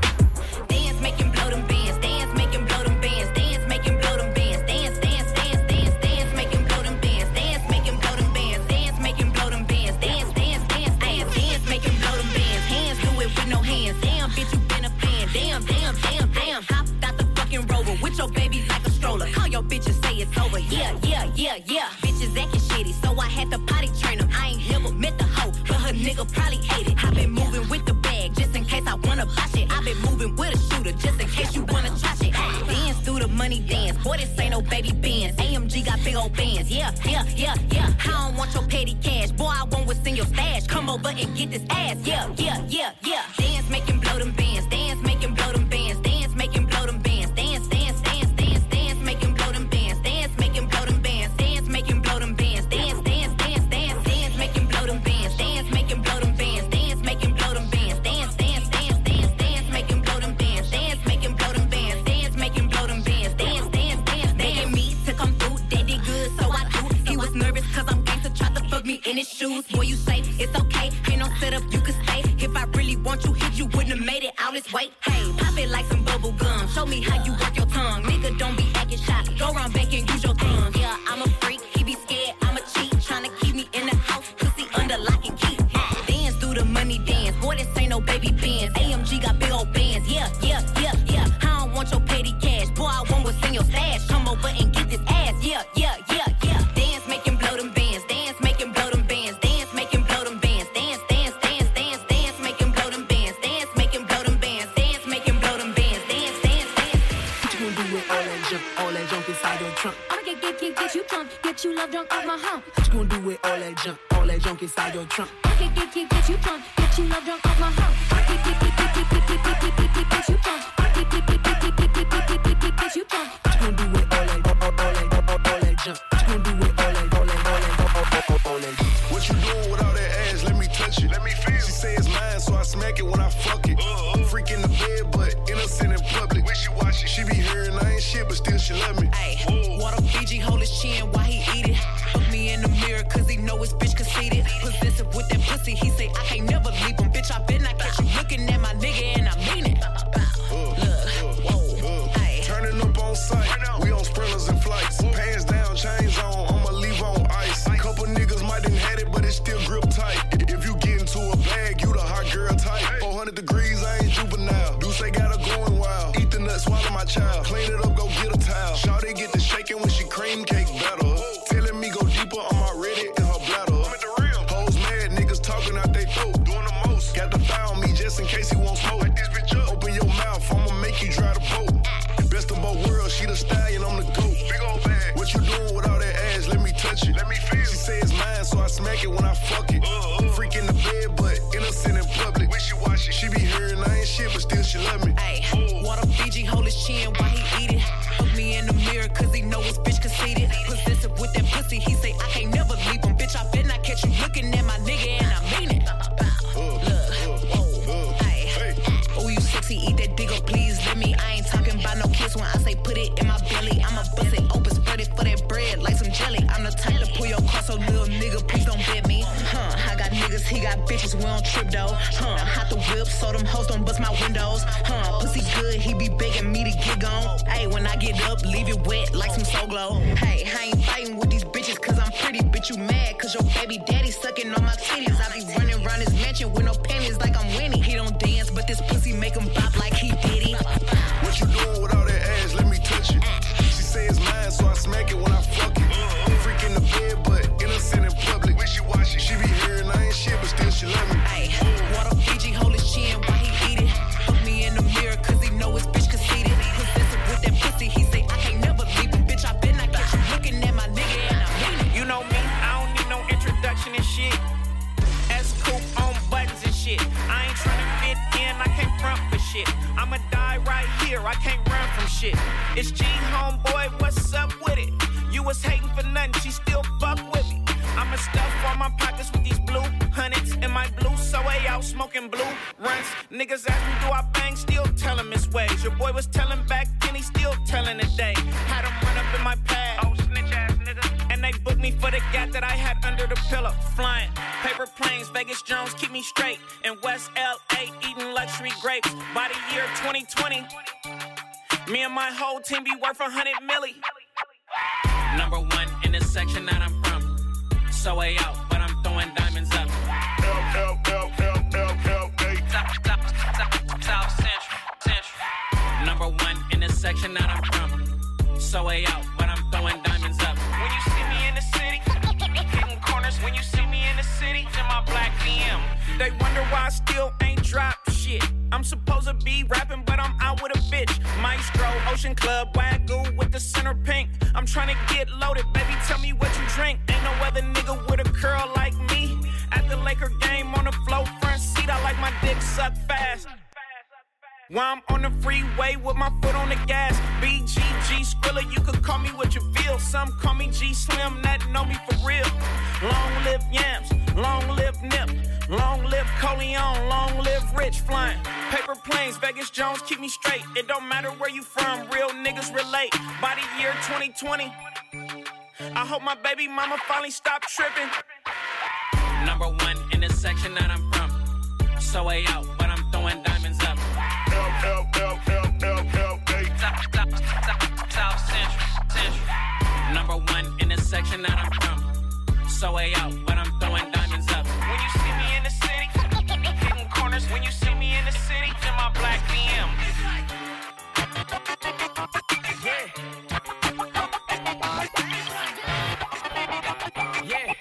Speaker 11: Dance, make him blow them bands. Dance, make him blow them bands. Dance, make him blow them bands. Dance, dance, dance, dance, dance, make him blow them bands. Dance, make him blow them bands. Dance, make him blow them bands. Dance, dance, dance, dance, dance, make him blow them bands. Hands do it with no hands. Damn, bitch, you been a fan. Damn, damn, damn, damn. Hopped out the fucking Rover with your baby like a stroller. Call your bitch and say it's over. Yeah, yeah, yeah, yeah. Bitches acting shitty, so I had to potty train them. I ain't never met the hoe, but her nigga probably ate it. I been moving with the bag just in case I wanna buy shit. I been moving with a shooter just in case you wanna try shit. Dance through the money dance. Boy, this ain't no baby bands. AMG got big old bands. Yeah, yeah, yeah, yeah. I don't want your petty cash. Boy, I want what's in your stash. Come over and get this ass. Yeah, yeah, yeah, yeah. Dance, make him blow them bands. Dance, make him blow them bands. Dance, make him blow them bands. Dance, dance, dance, dance, dance, make him blow them bands. Dance, make him blow them bands. Dance, make him blow them bands. Dance, dance, dance, dance, dance, make him blow them bands. Dance, make him blow them bands. Dance, make him blow them bands. Dance, dance, dance, dance, dance, make him blow them bands. Dance, make him blow them bands. Dance, make him blow them bands. Dance, dance, dance, begging me to come through. They did good, so I do. He was nervous cause I'm gangsta, tried to fuck me in his shoes. Boy, you say it's okay, ain't no setup, you can stay. If I really want you, hit you wouldn't have made it out this way. Hey, pop it like some bubble gum. Show me how you work your tongue. Nigga, don't be acting shy. Go around back and use your thumb. Yeah, I'm a freak. He be scared. I'm a cheat. Tryna keep me in the house. Pussy under lock and key. Dance through the money dance. Boy, this ain't no baby bands. AMG got big old bands. Yeah, yeah, yeah, yeah. I don't want your petty cash. Boy, I want what's in your stash. Come over and get this ass. Yeah, yeah, yeah, yeah. Dance, make him blow them bands. Dance, make him blow them bands. Dance, make him blow them bands. Dance, dance, dance, dance, dance, make him blow them bands. Dance, make him blow them bands. Dance, make him blow them bands. Dance, dance, dance.
Speaker 14: What you gonna do with all that junk inside your trunk?
Speaker 11: I'ma get you drunk, get you love drunk off my hump.
Speaker 14: What you gonna do with all that junk inside your trunk?
Speaker 11: Get you drunk, get you love drunk off my hump. Get you drunk, get you drunk.
Speaker 14: What you gonna do with all that junk? What you gonna do with all that junk?
Speaker 9: What you doing with all that ass? Let me touch it. Let me feel. She say it's mine, so I smack it when I fuck it. Freak in the bed, but innocent in public. Wishy-washy. She be hearing I ain't shit, but still she love me.
Speaker 14: Ayy, water Fiji, hold his chin while he eat it. Look me in the mirror, cause he know his bitch conceited. Possessive with that pussy, he say I can't never leave him. Bitch, I bet not catch you looking at my nigga, and I mean it.
Speaker 9: Turning up on sight. We on sprinters and flights. Pants down, chains on. I'ma leave on ice. Couple niggas might done had it, but it still grip tight. If you get into a bag, you the hot girl type. 400 degrees, I ain't juvenile. Do say got her going wild. Eat the nut, swallow my child. Clean it up, go get a towel. Shawty get the shaking when she cream cake better. Telling me go deeper, I'm already in her bladder. I'm at the rim. Hoes mad, niggas talking out they throat. Doing the most. Got the thigh on me just in case he won't smoke. Like this bitch up. Open your mouth, I'ma make you dry the boat. Best of both worlds, she the stallion, I'm the goat. Big old bag. What you doing with all that ass? Let me touch it. Let me feel. She say it's mine, so I smack it when I fuck it. Freak in the bed, but innocent in public. Wishy-washy. She be hearing I ain't shit, but still she love me.
Speaker 14: Ayy, water Fiji, hold his chin while he eat it. Look me in the mirror, cause he know his bitch conceited. Possessive with that pussy, he say I can't never leave him. Bitch, I bet not catch you looking at my nigga, and I mean it. Oh, you sexy, eat that dick up, please let me. I ain't talking about no kiss when I say put it in my belly. I'ma bust it open, spread it for that bread like some jelly. I'm the type to pull your car, so little nigga, please don't bet me. I got niggas, he got bitches, we don't trip though. Hot the whip, so them hoes don't bust my windows. Pussy good, he be begging me to get gone. Hey, when I get up, leave it wet like some Soul Glow. Hey, I ain't fighting with these bitches cause I'm pretty. Bitch, you mad cause your baby daddy sucking on my titties. I be running around his mansion with no panties like I'm Winnie. He don't dance, but this pussy make him bop like he did it.
Speaker 9: What you doing with all that ass? Let me touch it. She say it's mine, so I smack it when I fuck it. Freak in the bed, but innocent in public.
Speaker 19: here, I can't run from shit. It's G, homeboy, what's up with it? You was hating for nothing, she still fuck with me. I'ma stuff all my pockets with these blue hundreds in my blue Zoe out smoking blue runs. Niggas ask me do I bang, still tell him his ways. Your boy was telling back then, he still telling today. Had him run up in my pad, oh snitch ass nigga. And they booked me for the gap that I had under the pillow. Flying paper planes, Vegas Jones keep me straight. In West LA eating luxury grapes. By the year 2020, me and my whole team be worth 100 milli. Number one in the section that I'm from. So way out, but I'm throwing diamonds up. South Central. Number one in the section that I'm from. So way out, but I'm throwing diamonds up. When you see me in the city, hitting corners. When you see me in the city, in my black BM. They wonder why I still ain't dropped shit. I'm supposed to be rapping, but I'm out with a bitch. Maestro, Ocean Club, Wagyu with the center pink. I'm trying to get loaded, baby, tell me what you drink. Ain't no other nigga with a curl like me. At the Laker game on the floor, front seat, I like my dick suck fast. While I'm on the freeway with my foot on the gas. BGG Skrilla, you could call me what you feel. Some call me G Slim, that know me for real. Long live Yams, long live Nip. Long live Coleon, long live Rich. Flying paper planes, Vegas Jones keep me straight. It don't matter where you from, real niggas relate. By the year 2020, I hope my baby mama finally stop tripping. Number one in the section that I'm from. So way out, but I'm throwing diamonds up. South Central. Number one in the section that I'm from. So way out, but I'm throwing diamonds up. When you see me in the city, hitting corners. When you see me in the city, in my black BM. Yeah. Yeah.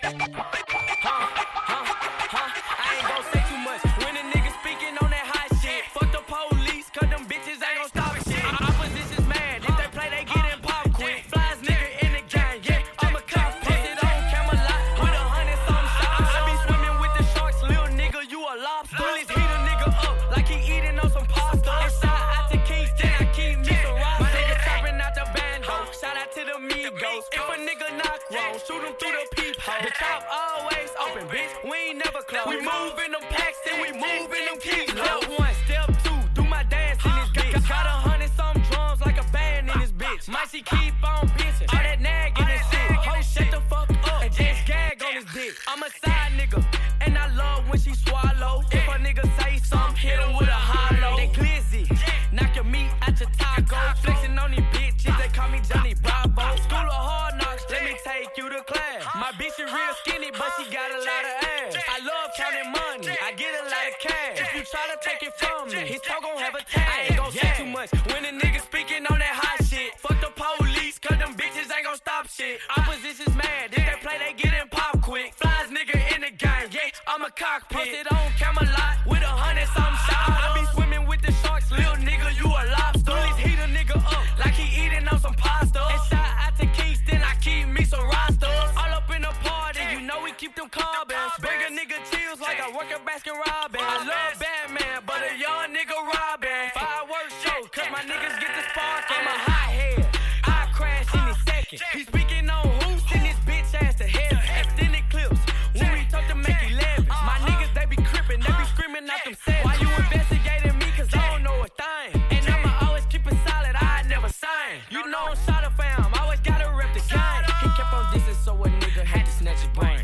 Speaker 19: I ain't gon' say too much. When a nigga speaking on that hot shit, fuck the police, cause them bitches ain't gon' stop shit. Opposition's mad, if they play, they get in pop quick. Flies nigga in the gang, yeah, I'm a cop. Posted on Camelot with 100-something shots. I be swimming with the sharks, little nigga, you a lobster. Bullies heat a nigga up like he eating on some pasta. And shout out to Kingston, I keep me some rocks. My nigga chopping out the bando, shout out to the Migos. If a nigga knock wrong, shoot him through the peephole. The top always open, bitch, we ain't never close. We move in them packs and we move in them keys. Step one, step two, do my dance in this bitch. Got 100-something drums like a band in this bitch. Might she keep on bitching, all that nagging and shit. Ho, shut the fuck up and just gag on his dick. I'm a side nigga, and I love when she swallow. If a nigga say something, hit him with a hollow. They glizzy, knock your meat out your taco. Flexing on these bitches, they call me Johnny Bravo. School of hard knocks, let me take you to class. My bitch is real skinny, but she got a lot of ass. I love counting money, I get a lot of cash. If you try to take it from me, his talk gon' have a tag. I ain't gon' say too much when a nigga speaking on that hot shit. Fuck the police, cause them bitches ain't gon' stop shit. Opposition's mad, if they play, they get in pop quick. Flies nigga in the game, yeah, I'm a cockpit. Posted on Camelot with 100-something shots. I be swimming with the sharks, little nigga, you a lobster. Bullies heat a nigga up like he eating on some pasta. And shout out to Kingston, I keep me some rosters. All up in the party, you know we keep them carbons. Bring a nigga chills like I work at Baskin Robbins. I love Batman, but a young nigga robbing. Fireworks show, cause my niggas get the spark. I'm a hot head, I crash in a second. He speaking on who, send this bitch ass to heaven. Extended clips, when we talk to make 11. My niggas, they be crippin', they be screaming out them sets. Why you investigating me, cause I don't know a thing. And I'ma always keep it solid, I never sign. You know I'm shot up fam, always gotta rep the game. He kept on dissing, so a nigga had to snatch his brain.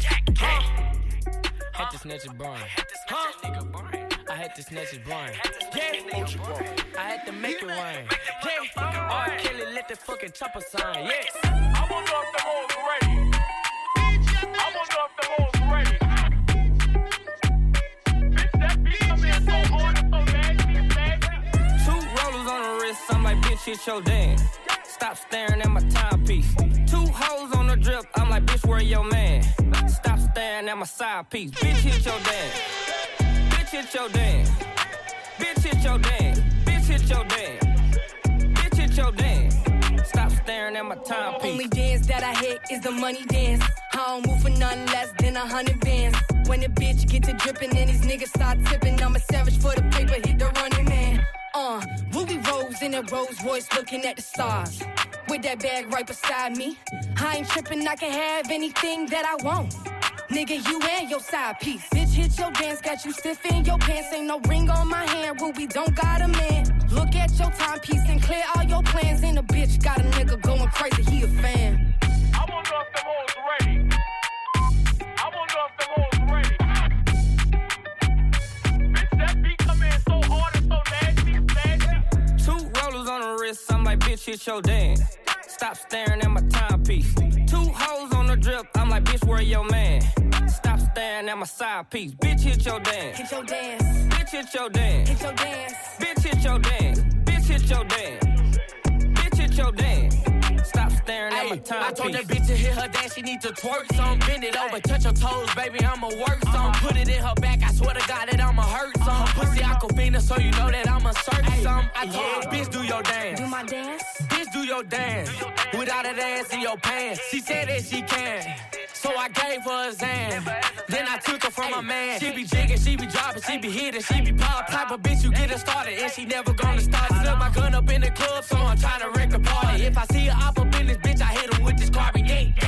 Speaker 19: Had to snatch his brain. I had to snatch his brain. Yeah, I had to make it rain. Yeah, R. Kelly let the fucking chopper sign. Yes. I wanna know if the hoes ready. I wanna know if the hoes ready. Bitch, that beat come in so hard and so nasty.
Speaker 20: 2 rollers on the wrist, I'm like, bitch, hit your dance. Stop staring at my timepiece. 2 hoes on the drip, I'm like, bitch, where your man? Stop staring at my side piece. Bitch, hit your dance. Bitch, hit your dance. Bitch, hit your dance. Bitch, hit your dance. Bitch, hit your dance. Stop staring at my timepiece.
Speaker 21: Only dance that I hit is the money dance. I don't move for nothing less than 100 bands. When the bitch get to dripping and these niggas start tipping, I'm a savage for the paper, hit the running man. Ruby Rose in a Rolls Royce looking at the stars. With that bag right beside me. I ain't tripping, I can have anything that I want. Nigga, you and your side piece. Bitch, hit your dance, got you stiff in your pants. Ain't no ring on my hand, Ruby don't got a man. Look at your timepiece and clear all your plans. And a bitch got a nigga going crazy, he a fan.
Speaker 2: I wonder if them hoes ready. I wonder if them hoes ready. Bitch, that beat come in so hard and so nasty.
Speaker 20: Two rollers on the wrist, I'm like, bitch, hit your dance. Stop staring at my timepiece. Two hoes on the drip, I'm like, bitch, where your man? Stop staring at my side piece. Bitch, hit your dance.
Speaker 21: Hit your dance.
Speaker 20: Bitch, hit your dance.
Speaker 21: Hit your dance.
Speaker 20: Bitch, hit your dance. Bitch, hit your dance. Bitch, hit your dance. Stop staring at my timepiece.
Speaker 19: I told that bitch to hit her dance, she need to twerk some. Bend it over, touch her toes, baby, I'ma work some. Put it in her back, I swear to God that I'ma hurt some. Pussy Aquafina, so you know that I'ma search some. I told her, bitch, do your dance.
Speaker 21: Do my dance?
Speaker 19: Bitch, do your dance. Without that ass in your pants. She said that she can. So I gave her a Zan. Then I took her from my man. She be jigging, she be dropping, she be hitting, she be pop. Type of bitch you get her started, and she never gonna start. Slip my gun up in the club, so I'm trying to wreck the party. If I see her up in this bitch, I hit her with this carbon. Yeah, yeah.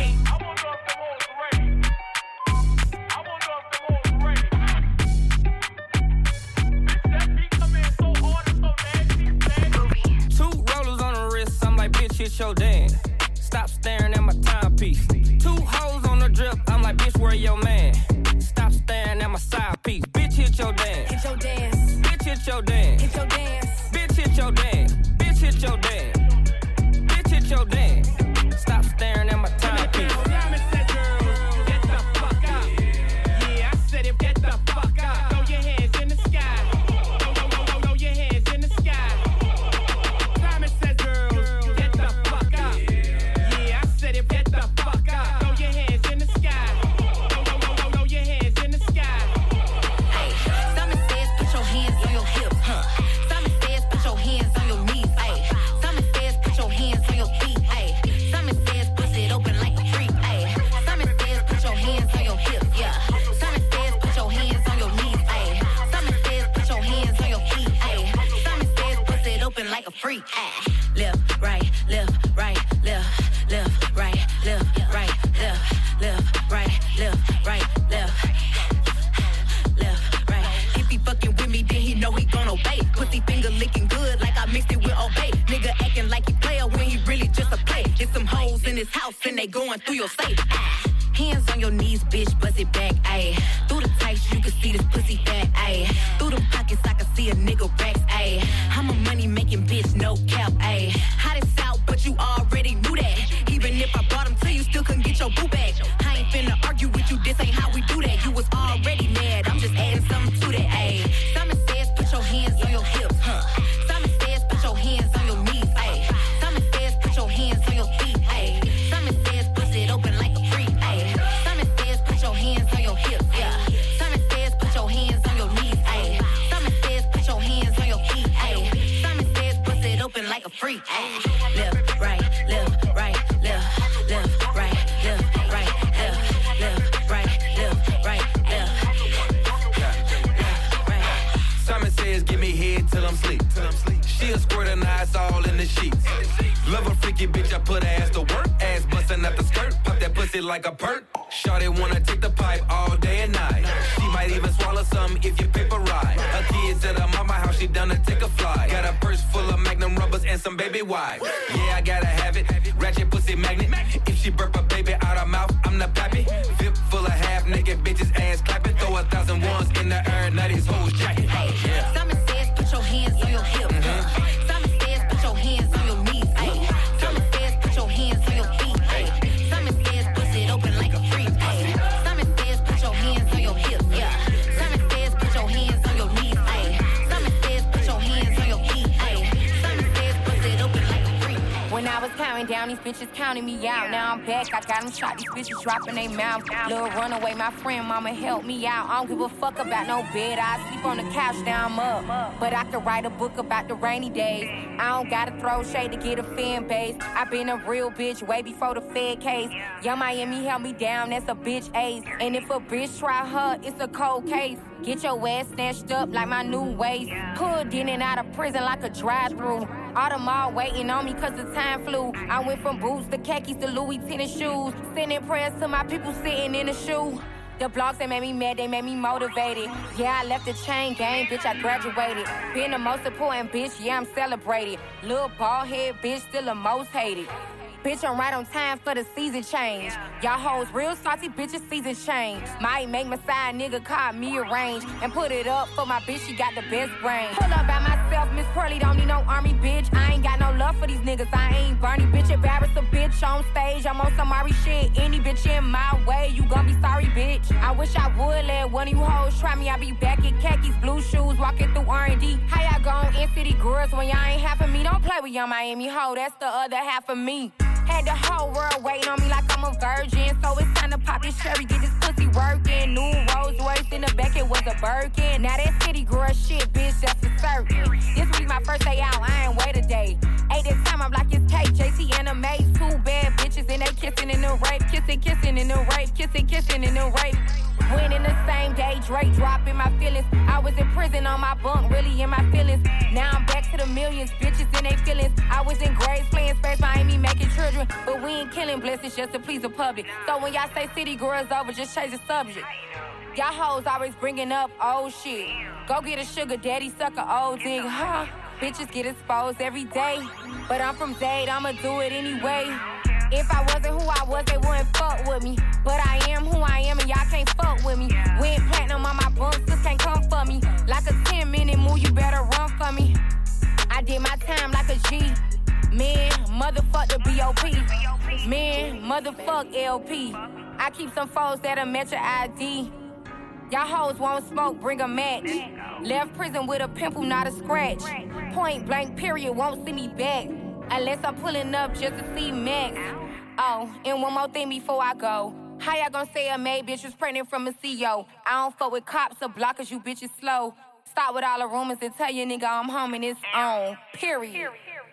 Speaker 20: Hit your dance. Stop staring at my timepiece. Two hoes on the drip, I'm like, bitch, where your man? Stop staring at my side piece. Bitch, hit your dance.
Speaker 21: Hit your dance.
Speaker 20: Bitch, hit your dance.
Speaker 21: Hit your dance.
Speaker 20: Bitch, hit your dance. Bitch, hit your dance. Bitch, hit your dance. Stop staring at my timepiece.
Speaker 2: Diamond said, girl, get the fuck out. Yeah, I said it, get the fuck out. Throw your hands in the sky. Throw your hands in the sky. Diamond said, girl, get the fuck out. Yeah, I said it, get the fuck out. Throw your hands in the sky. Throw your hands in the sky.
Speaker 11: Hey, Simon says put your hands on your hips, huh? Simon says put your hands on your knees, ayy. Simon says put your hands on your feet, ayy. Simon says bust it open like a freak, ayy. Simon says put your hands on your hips, yeah. Simon says put your hands on your knees, ayy. Simon says put your hands on your feet, ayy. Simon says bust it open like a freak, ayy. Left, right, left, right, left, left, right, left, right, left, left, right, left, right, left. Left, right. If he fucking with me, then he know he gon' obey. Pussy finger licking good like I mixed it with Obey. Nigga acting like he player when he really just a play. There's some hoes in his house and they going through your safe. Hands on your knees, bitch, bust it back, ayy. Through the tights, you can see this pussy fat, ayy. Through the pockets, I can see a nigga racks, ayy. I'm a money-making bitch, no cap, ayy. Hot as out, but you already knew that. Even if I brought him to you, still couldn't get your boo back. I ain't finna argue with you, this ain't how we do that. You was already mad, I'm just adding something to that, ayy. Simon says put your hands on your hips, huh? Simon says put your hands on your knees, ayy. Simon says put your hands on your feet, ayy. Simon says bust it open like a freak, ayy. Simon says put your hands on your hips, yeah. Simon says put your hands on your knees, ayy. Simon says put your hands on your feet, ayy. Simon says bust it open like a freak, ayy. Left, right, left, right, left, left, right, left, right, left, left, right, left, right, left.
Speaker 6: Simon says, give me head till I'm sleep. She a squirt and eyes all in the sheets. Love a freaky bitch, I put her ass to work. Ass busting out the skirt, pop that pussy like a perk. Shawty wanna take the pipe all day and night. She might even swallow some if you paper right. Her kids at her mama house, she done to take a fly. Got a purse full of Magnum rubbers and some baby wipes. Yeah, I gotta have it. Ratchet pussy magnet. If she burp a baby out her mouth, I'm the pappy. Vip full of half naked bitches, ass clapping. Throw 1,000 ones in the air, now these hoes jacket. Yeah.
Speaker 11: Simon says put your hands on your hips. Simon says put your hands on your knees, ayy. Simon says put your hands on your feet, ayy. Simon says bust it open like a freak, ayy. Simon says put your hands on your hips, yeah. Simon says put your hands on your knees, ayy. Simon says put your hands on your feet, ayy. Simon says bust it open like a freak.
Speaker 21: When I was counting down
Speaker 11: down, these bitches counting me out. Now I'm back, I got them shot, these bitches dropping they mouth. Little runaway, my friend, mama help me out. I don't give a fuck about no bed, I sleep on the couch, now I'm up. But I could write a book about the rainy days. I don't gotta throw shade to get a fan base. I been a real bitch way before the Fed case. Young Miami held me down, that's a bitch ace. And if a bitch try her, it's a cold case. Get your ass snatched up like my new waist. Pulled in and out of prison like a drive-thru. All the mall waiting on me cause the time flew. I went from boots to khakis to Louis tennis shoes. Sending prayers to my people sitting in the shoe. The blogs, they made me mad, they made me motivated. Yeah, I left the chain gang, bitch, I graduated. Being the most important bitch, yeah, I'm celebrated. Little bald head bitch, still the most hated. Bitch, I'm right on time for the season change. Y'all hoes real salty, bitches, season change. Might make my side nigga call me arrange and put it up for my bitch, she got the best brain. Pull up by myself, Miss Pearly, don't need no army, bitch. I ain't got no love for these niggas, I ain't Bernie, bitch. Embarrass a bitch on stage, I'm on some Ari shit. Any bitch in my way, you gon' be sorry, bitch. I wish I would let one of you hoes try me. I be back in khakis, blue shoes, walking through R&D. How y'all gon' in-city girls when y'all ain't half of me? Don't play with Young Miami hoe, that's the other half of me. Had the whole world waiting on me like I'm a virgin. So it's time to pop this cherry, get this pussy working. New Rolls Royce in the back, it was a Birkin. Now that city girl shit, bitch, that's for certain. This week my first day out, I ain't wait a day. Ain't this time I'm like it's cake, JC and a maid. Two bad bitches and they kissing in the rape. Kissing in the rape, kissing in the rape. When in the same day, Drake dropping my feelings. I was in prison on my bunk, really in my feelings. Now I'm back to the millions, bitches in they feelings. I was in grades playing Space Miami, making children. But we ain't killing blessings just to please the public. So when y'all say city girls over, just change the subject. Y'all hoes always bringing up old shit. Go get a sugar daddy, suck a old dick, huh? Bitches get exposed every day. But I'm from Zade, I'ma do it anyway. If I wasn't who I was, they wouldn't fuck with me. But I am who I am and y'all can't fuck with me. Went platinum on my bumps, this can't come for me. Like a 10-minute move, you better run for me. I did my time like a G. Man, motherfuck the B.O.P. Man, motherfuck LP. I keep some foes that'll match your ID. Y'all hoes won't smoke, bring a match. Left prison with a pimple, not a scratch. Point blank period, won't see me back. Unless I'm pulling up just to see Max. Oh, and one more thing before I go. How y'all gonna say a maid bitch was pregnant from a CEO? I don't fuck with cops or blockers, you bitches slow. Stop with all the rumors and tell your nigga I'm home and it's on. Period.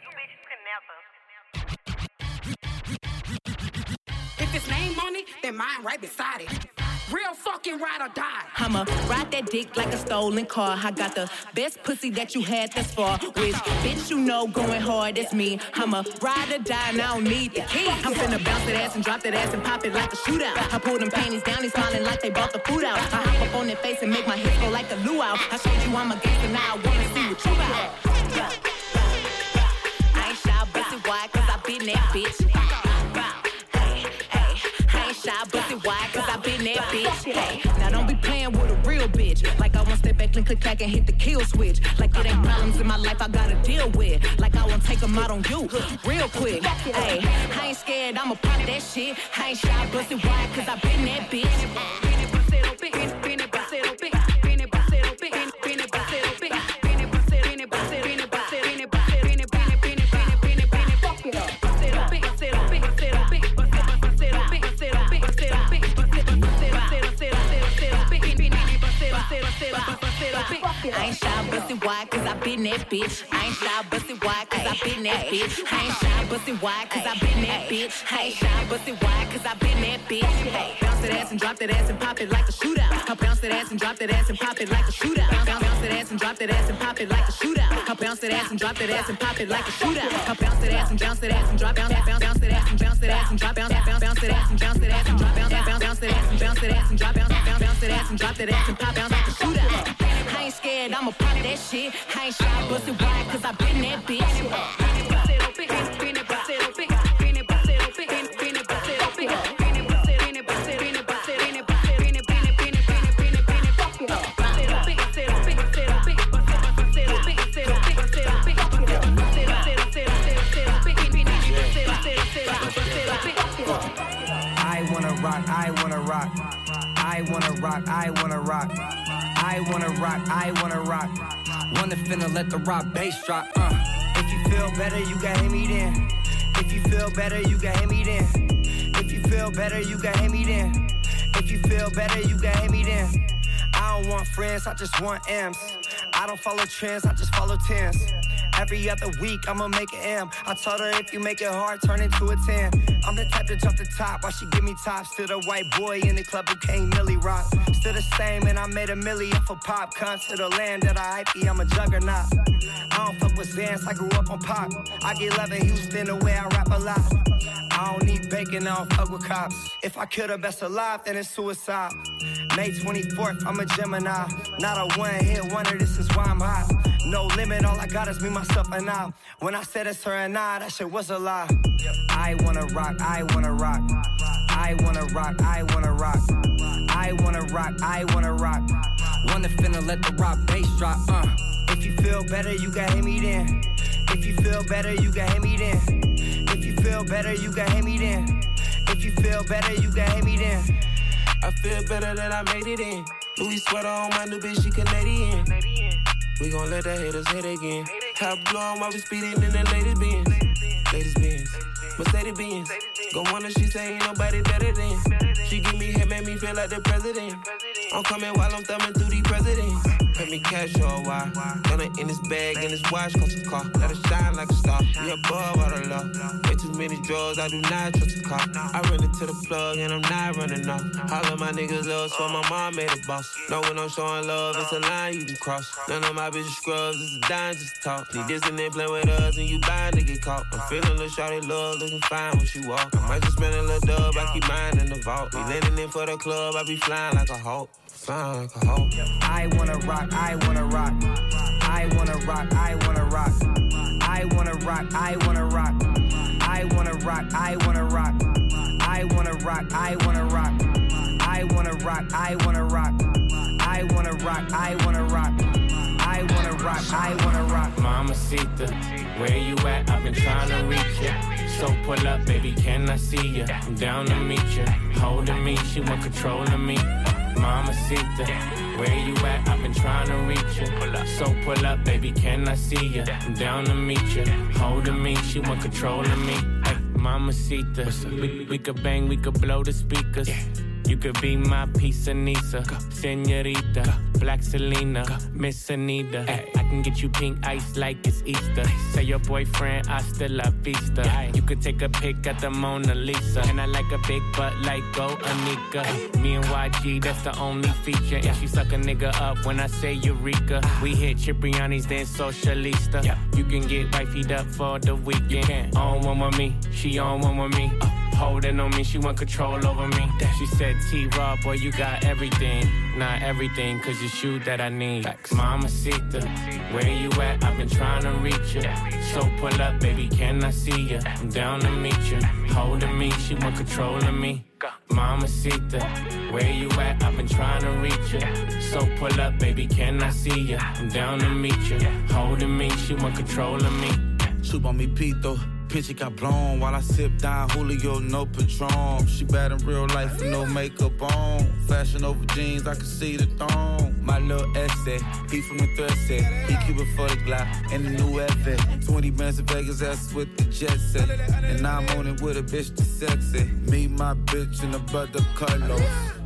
Speaker 1: If it's name on it, then mine right beside it. Real fucking ride or die.
Speaker 22: I'ma ride that dick like a stolen car. I got the best pussy that you had thus far. Which bitch you know going hard, that's me. I'ma ride or die and I don't need the key. I'm finna bounce that ass and drop that ass and pop it like a shootout. I pull them panties down, they smiling like they bought the food out. I hop up on their face and make my hips go like a luau. I showed you I'm a gangster, now I wanna see what you about. I ain't shy, bustin' wide, cause I been that bitch. Shy, bustin' wide, cause I been that bitch. Hey, now don't be playing with a real bitch. Like I won't step back and click clack and hit the kill switch. Like it ain't problems in my life I gotta deal with. Like I won't take them out on you real quick. Hey, I ain't scared, I'ma pop that shit. I ain't shy, bustin' wide, cause I been that bitch. I ain't shy, bustin' wide, cause I been that bitch. I ain't shy, bustin' wide, cause I been that bitch. I ain't shy, bustin' wide, cause I been that bitch. I ain't shy, bustin' wide, cause I been that bitch. Hey, bounce that ass and drop that ass and pop it like a shootout. I bounce that ass and drop that ass and pop it like a shootout. Bounce that ass and drop that ass and pop it like a shootout. I bounce that ass and drop that ass and pop it like a shootout. I bounce that ass and bounce that ass and drop bounce that ass and bounce that ass and drop bounce that ass and bounce that ass and drop bounce that ass and bounce that ass and drop bounce that ass and drop that ass and pop bounce like a shootout. I ain't scared, I'ma pop that shit. I ain't shy, bustin' wide, cause I been that bitch.
Speaker 8: I wanna rock, I wanna rock. I wanna rock, I wanna rock. I wanna rock, I wanna rock. Wanna finna let the rock bass drop, If you feel better, you can hit me then. If If you feel better, you can hit me then. If you feel better, you can hit me then. If you feel better, you can hit me then. I don't want friends, I just want M's. I don't follow trends, I just follow tens. Every other week, I'ma make an M. I told her if you make it hard, turn into a 10. I'm the type to jump the top while she give me tops. Still the white boy in the club who can't milli rock. Still the same, and I made a milli off of pop. Come to the land that I hype, I'm a juggernaut. I don't fuck with Zans, I grew up on pop. I get love in Houston the way I rap a lot. I don't need bacon, I don't fuck with cops. If I kill the best alive, then it's suicide. May 24th, I'm a Gemini. Not a one-hit wonder, this is why I'm hot. No limit, all I got is me, myself, and I. When I said it's her and I, that shit was a lie. I wanna rock, I wanna rock. I wanna rock, I wanna rock. I wanna rock, I wanna rock. Wanna finna let the rock bass drop, If you feel better, you can hit me then. If you feel better, you can hit me then. If you feel better, you can hit me then. If you feel better, you can hit me then.
Speaker 3: I feel better that I made it in. Louis sweater on my new bitch, she Canadian. We gon' let the haters hit again. Top blow on while we speeding in the ladies' Benz. Ladies' Benz, Mercedes Benz. Go on and she say ain't nobody better than. She give me head, make me feel like the president. I'm coming while I'm thumbing through these presidents. Pay me cash or a while. Got it in his bag and his watch cost a car. Let it shine like a star. We above all the law. Way too many drugs, I do not trust a car. I run into the plug and I'm not running off. All of my niggas up, so my mom made a boss. Know when I'm showing love, it's a line you can cross. None of my bitches scrubs, it's a dime just talk. Need this and then play with us and you bound to get caught. I'm feeling the shawty love, looking fine when she walk. I might just spend a little dub, I keep mine in the vault. We landing in for the club, I be flying like a hawk. Flying like a hawk.
Speaker 8: I wanna rock, I wanna rock. I wanna rock, I wanna rock. I wanna rock, I wanna rock. I wanna rock, I wanna rock. I wanna rock, I wanna rock. I wanna rock, I wanna rock. I wanna rock, I wanna rock. I wanna rock, I wanna rock.
Speaker 2: Mamacita, where you at? I've been trying to reach you. So pull up, baby, can I see you? I'm down to meet you. Holding me, she want control of me. Mamacita, where you at? I've been trying to reach you. So pull up, baby, can I see you? I'm down to meet you. Holding me, she want control of me. Hey, Mamacita, we could bang, we could blow the speakers. You could be my piece of Nisa, Senorita, Black Selena, Miss Anita. Ay, I can get you pink ice like it's Easter. Say your boyfriend, hasta la vista. Ay, you could take a pic at the Mona Lisa. And I like a big butt like Go Anika. Me and YG, that's the only feature. And she suck a nigga up when I say Eureka. We hit Cipriani's, then Socialista. You can get wifey'd up for the weekend. On one with me, she on one with me. Holding on me, she want control over me. She said, T-Raw, boy, you got everything. Not everything, cause you shoot that I need. Mamacita, where you at? I've been trying to reach you. So pull up, baby, can I see you? I'm down to meet you. Holding me, she want control of me. Mamacita, where you at? I've been trying to reach you. So pull up, baby, can I see you? I'm down to meet you. Holding me, she want control of me.
Speaker 4: Chupa mi pito. Picture got blown while I sip down Julio, no Patron. She bad in real life with no makeup on. Fashion over jeans, I can see the thong. My little essay, he from the thread set. He keep it for the Glock and the new Evan. 20 bands in Vegas, that's with the jet set. And now I'm on it with a bitch that's sexy. Me, my bitch, and the brother Carlos.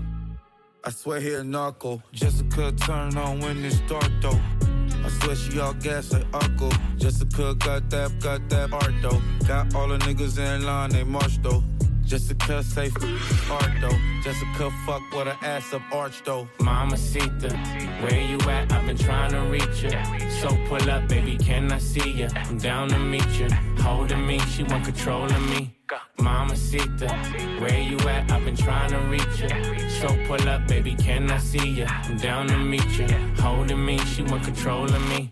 Speaker 4: I swear he a narco. Jessica turn on when it's dark though. I swear she all gas like Uncle. Jessica got that art though. Got all the niggas in line, they march though. Jessica safe art though. Jessica fuck with her ass up arch though.
Speaker 2: Mamacita, where you at? I've been trying to reach you. So pull up, baby, can I see you? I'm down to meet you. Holding me, she want control of me. Mamacita, where you at? I've been trying to reach you. So pull up, baby, can I see you? I'm down to meet you. Holding me, she want control of me.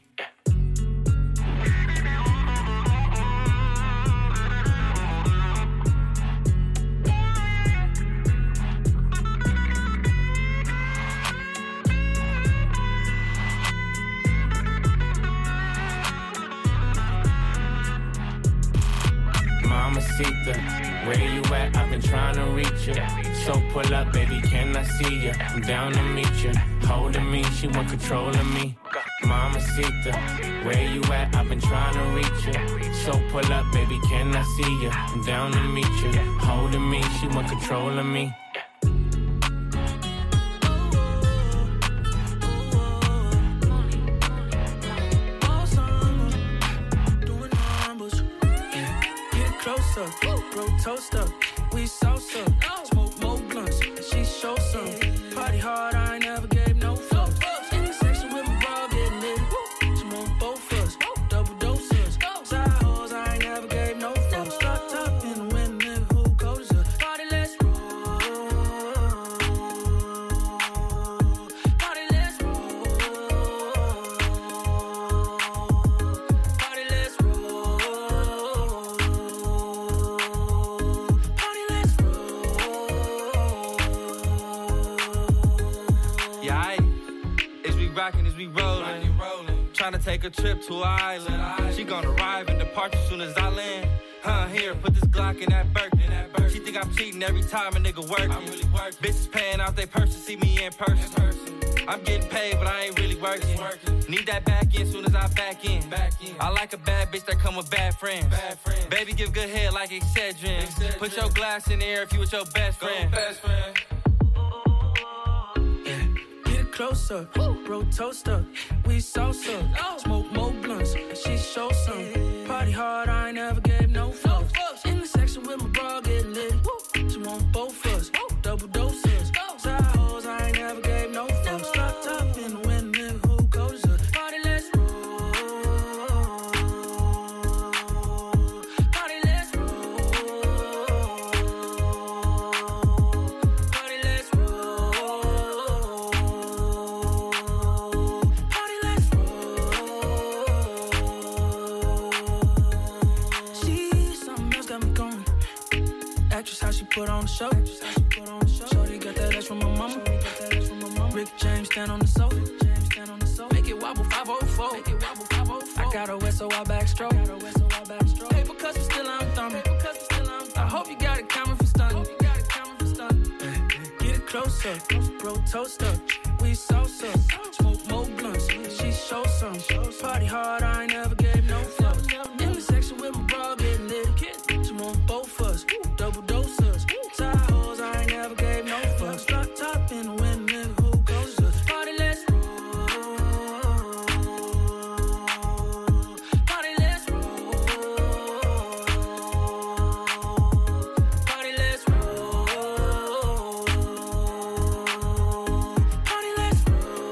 Speaker 2: Mamacita, where you at? I've been trying to reach you. So pull up, baby, can I see you? I'm down to meet you. Holding me, she want control of me. Mamacita, where you at? I've been trying to reach you. So pull up, baby, can I see you? I'm down to meet you. Holding me, she want control of me.
Speaker 14: Closer, bro, toast up, we salsa, smoke more blunts, she show some. Party hard, I ain't never gave no fuck. In the section with my bra getting lit, she want both of us, double doses. Side hoes, I ain't never gave no fuck. Start top in the wind, nigga, who goes up? Party, let's roll. Party, let's roll. Party, let's roll.
Speaker 15: Rockin' as we rollin', tryna take a trip to an island. She gon' arrive and depart as soon as I land. Here, put this Glock in that Birkin. She think I'm cheating every time a nigga workin'. I'm really working. Bitches paying out they purse to see me in person. I'm getting paid, but I ain't really working. Need that back in soon as I back in. I like a bad bitch that come with bad friends. Baby, give good head like Excedrin. Put your glass in the air if you with your best friend.
Speaker 14: Closer, bro, toast up, we salsa, smoke more blunts, she show some. Party hard, I ain't never gave no fucks. In the section with my bra getting lit, she want both of us, double doses. Side hoes, I ain't never gave no fucks. Drop top in the wind, nigga, who goes up? Party, let's roll. Party, let's roll. Party, let's roll. How she put on the show. Shorty got that ass from my mama. Rick James stand on the sofa. Make it wobble 504. I got a west, so I backstroke. Paper cuts, but still I'm thumbing. I hope you got a camera for stunning. Get it closer, bro, toast up. We salsa, smoke more blunts. She show some. Party hard, I ain't never gave no fucks. In the section with my bra getting lit. She want both of us, double doses. Side hoes, I ain't never gave no fucks. Drop top in the wind, nigga, who goes up? Party, let's roll. Party, let's roll. Party, let's roll. Party, let's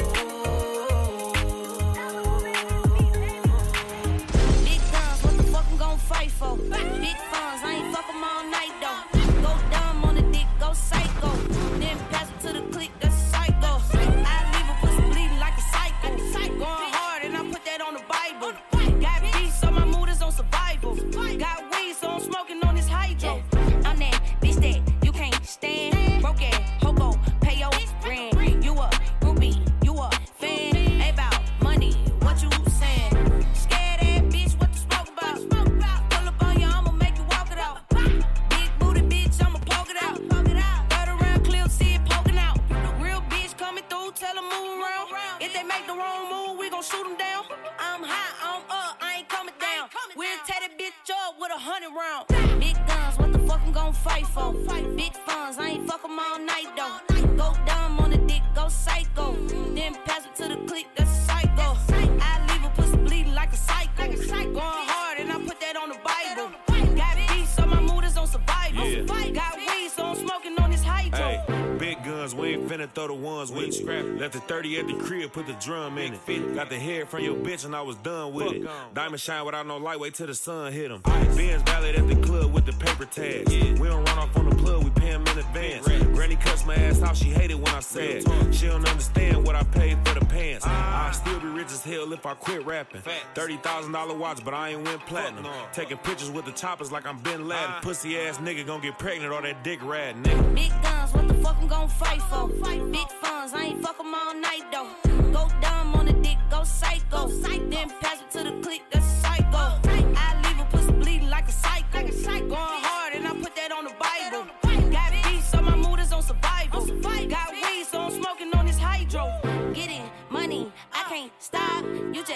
Speaker 14: roll.
Speaker 13: Big guns, what the fuck I'm gon' fight for? Big funds, I ain't fuck 'em all night though. Go dumb on the dick, go psycho. Then pass it to the clique, that's psycho. I leave a pussy bleeding like a psycho. Going hard and I put that on the Bible. Got beats, so my mood is on survival. Got weed, so I'm smoking on this hydro. I'm that bitch that you can't stand. Broke ass, hobo, pay your rent. You a groupie, you a fan. Ain't about money, what you saying? Scared ass bitch, what the smoke about? Pull up on you, I'ma make you walk it out. Big booty bitch, I'ma poke it out. Third around, clear, see it poking out. Real bitch coming through, tell them move around. If they make the wrong move, we gon' shoot them down. I'm high, I'm up, I ain't coming down. We'll tear that bitch up with 100 rounds. Big guns, what the fuck I'm gon' fight for? Big funds, I ain't fuck 'em all night though. Go dumb on the dick, go psycho. Then pass it to the clique, that's a psycho. I leave a pussy bleeding like a psycho. Going hard and I put that on the Bible. Got beats, so my mood is on survival. Got weed, so I'm smoking on this hydro.
Speaker 5: Hey, big guns, we ain't finna throw the ones with you. Left the 30 at the crib, put the drum in it. Got the head from your bitch and I was done with it. Diamond shine without no light, wait till the sun hit him. Benz valet at the club with the paper tags. We don't run off on the plug, we pay him in advance. Granny cuts my ass off, she hated when I said she don't understand what I paid for the pants. I'll still be rich as hell if I quit rapping. $30,000 watch, but I ain't went platinum. Taking pictures with the choppers like I'm Ben Laden. Pussy ass nigga gon' get pregnant or that dick rat nigga.
Speaker 13: Big guns, what the fuck I'm gon' fight for? Big funds, I ain't fuck 'em all night though. Go dumb on the dick, go psycho. Then pass it to the clique, that's a psycho. I leave a pussy bleeding like a psycho. Going hard and I put that on the Bible. Got beats, so my mood is on survival. Got weed, so I'm smoking on this hydro. Getting money, I can't stop.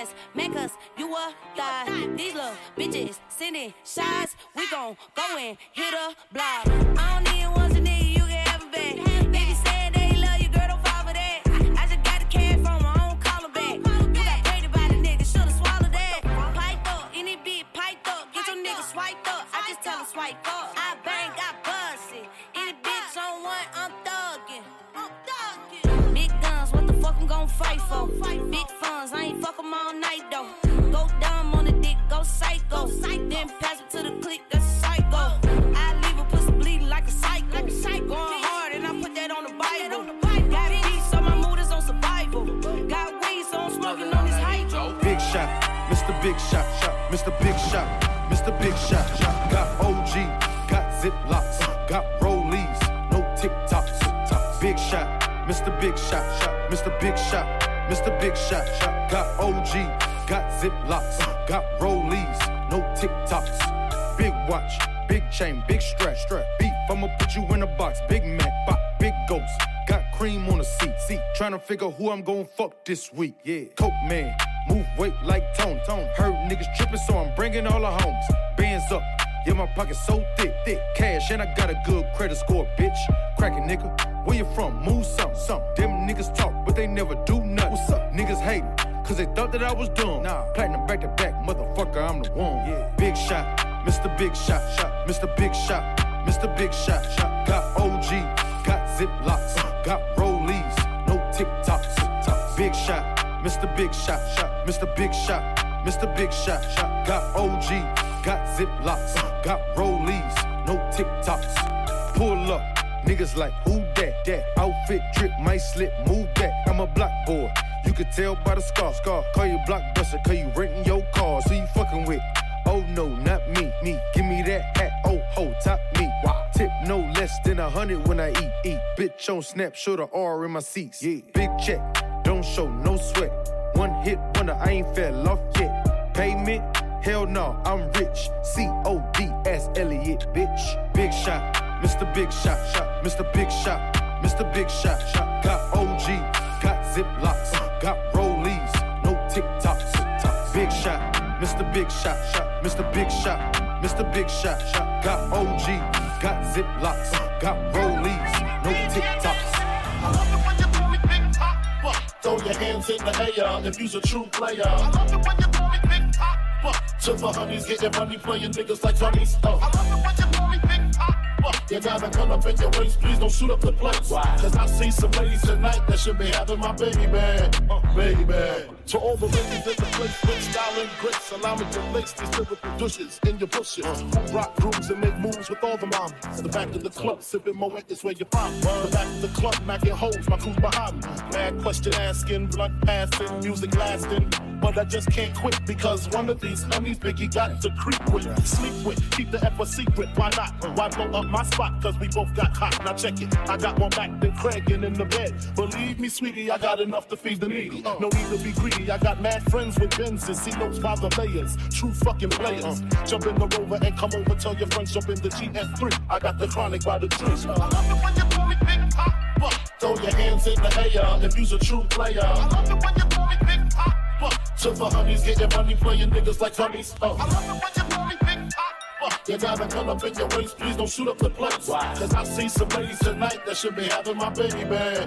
Speaker 7: ass, man, cause you a thot. These little bitches sending shots. We gon' go and hit a block. I don't need once a nigga, you can have it back. Niggas saying they love you, girl, don't fall for that. I just got the cash from my own collar back. You got paid by the nigga, shoulda swallowed that. Piped up, any bitch piped up. Get your nigga swiped up, I just tell him swipe up. I bang, got busted. Any bitch on one, I'm thuggin'. Big guns, what the fuck I'm gon' fight for? Big funds, I ain't fuck 'em all night though. Go dumb on the dick, go psycho. Then pass it to the clique, that's a psycho. I leave a pussy bleeding like a psycho. Going hard and I put that on the Bible. Got peace, so my mood is on survival. Got weed, so I'm smoking on this hydro.
Speaker 10: Big shot, Mr. Big Shot, Mr. Big Shot, Mr. Big Shot. Got OG, got Ziplocs, got Rollies, no TikToks. Big shot, Mr. Big Shot, Mr. Big Shot, Mr. Big Shot. Got OG, got Ziplocs, got Rollies, no TikToks. Big watch, big chain, big strap. Beef, I'ma put you in a box. Big Mac, pop, big ghost. Got cream on the seat. Tryna figure who I'm gon' fuck this week. Yeah, Coke man, move weight like Tone. Heard niggas trippin', so I'm bringing all the homes. Bands up, yeah, my pocket's so thick. Cash, and I got a good credit score, bitch. Crackin' nigga, where you from? Move some. Them niggas talk, but they never do nothing. What's up? Niggas hatin', cause they thought that I was dumb. Platinum back to back, motherfucker, I'm the one. Yeah. Big shot, Mr. Big Shot, Mr. Big Shot, Mr. Big Shot. Got OG, got Ziplocs, got Rollies, no TikToks. Big shot, Mr. Big Shot, Mr. Big Shot, Mr. Big Shot. Got OG, got Ziplocs, got Rollies, no TikToks. Pull up, niggas like who that? Outfit drip, might slip, move back. I'm a block boy, you could tell by the scar. Call you blockbuster, cause you renting your car. So you fucking with, oh no, not me. Give me that hat, oh ho, top me. Tip no less than 100 when I eat. Bitch on snap, show the R in my seats. Yeah. Big check, don't show no sweat. One hit wonder, I ain't fell off yet. Payment, hell no, I'm rich. CODS Elliot, bitch. Big shot, Mr. Big Shot, Mr. Big Shot, Mr. Big Shot. Got OG, got Ziplocs, got Rollies, no TikToks. Big shot, Mr. Big Shot, Mr. Big Shot, Mr. Big Shot. Got OG, got Ziplocs, got Rollies, no TikToks.
Speaker 23: Throw your hands in the air if you's a true player. I love it when you call me Big Pop. To the honeys, getting money, playing niggas like Tony's. I love it when you call me Big Pop. You gotta come up in your waist, please don't shoot up the place. Cause I see some ladies tonight that should be having my baby. Baby. To all the ladies in the place, with style and grace, allow me to lace these lyrical douches in your bushes. Who rock grooves and make moves with all the moms. The back of the club, sipping Moet is where you find me. The back of the club, macking hoes, my crew's behind me. Mad question asking, blunt passing, music lasting. But I just can't quit because one of these honeys Biggie got to creep with, sleep with, keep the F a secret. Why not? Why blow up my spot? Cause we both got hot. Now check it. I got more back than Craig in the bed. Believe me, sweetie, I got enough to feed the needy. No need to be greedy. I got mad friends with Benzes. See notes by the layers. True fucking players. Jump in the Rover and come over. Tell your friends jump in the GS3. I got the chronic by the tree. I love it when you call me Big Pop. Throw your hands in the air if you's a true player. I love it when you call me Big Pop. To the honeys, getting money, playing niggas like Tony's. I love it when you call me Big Pop. You gotta come up in your waist, please don't shoot up the place. Cause I see some ladies tonight that should be having my baby.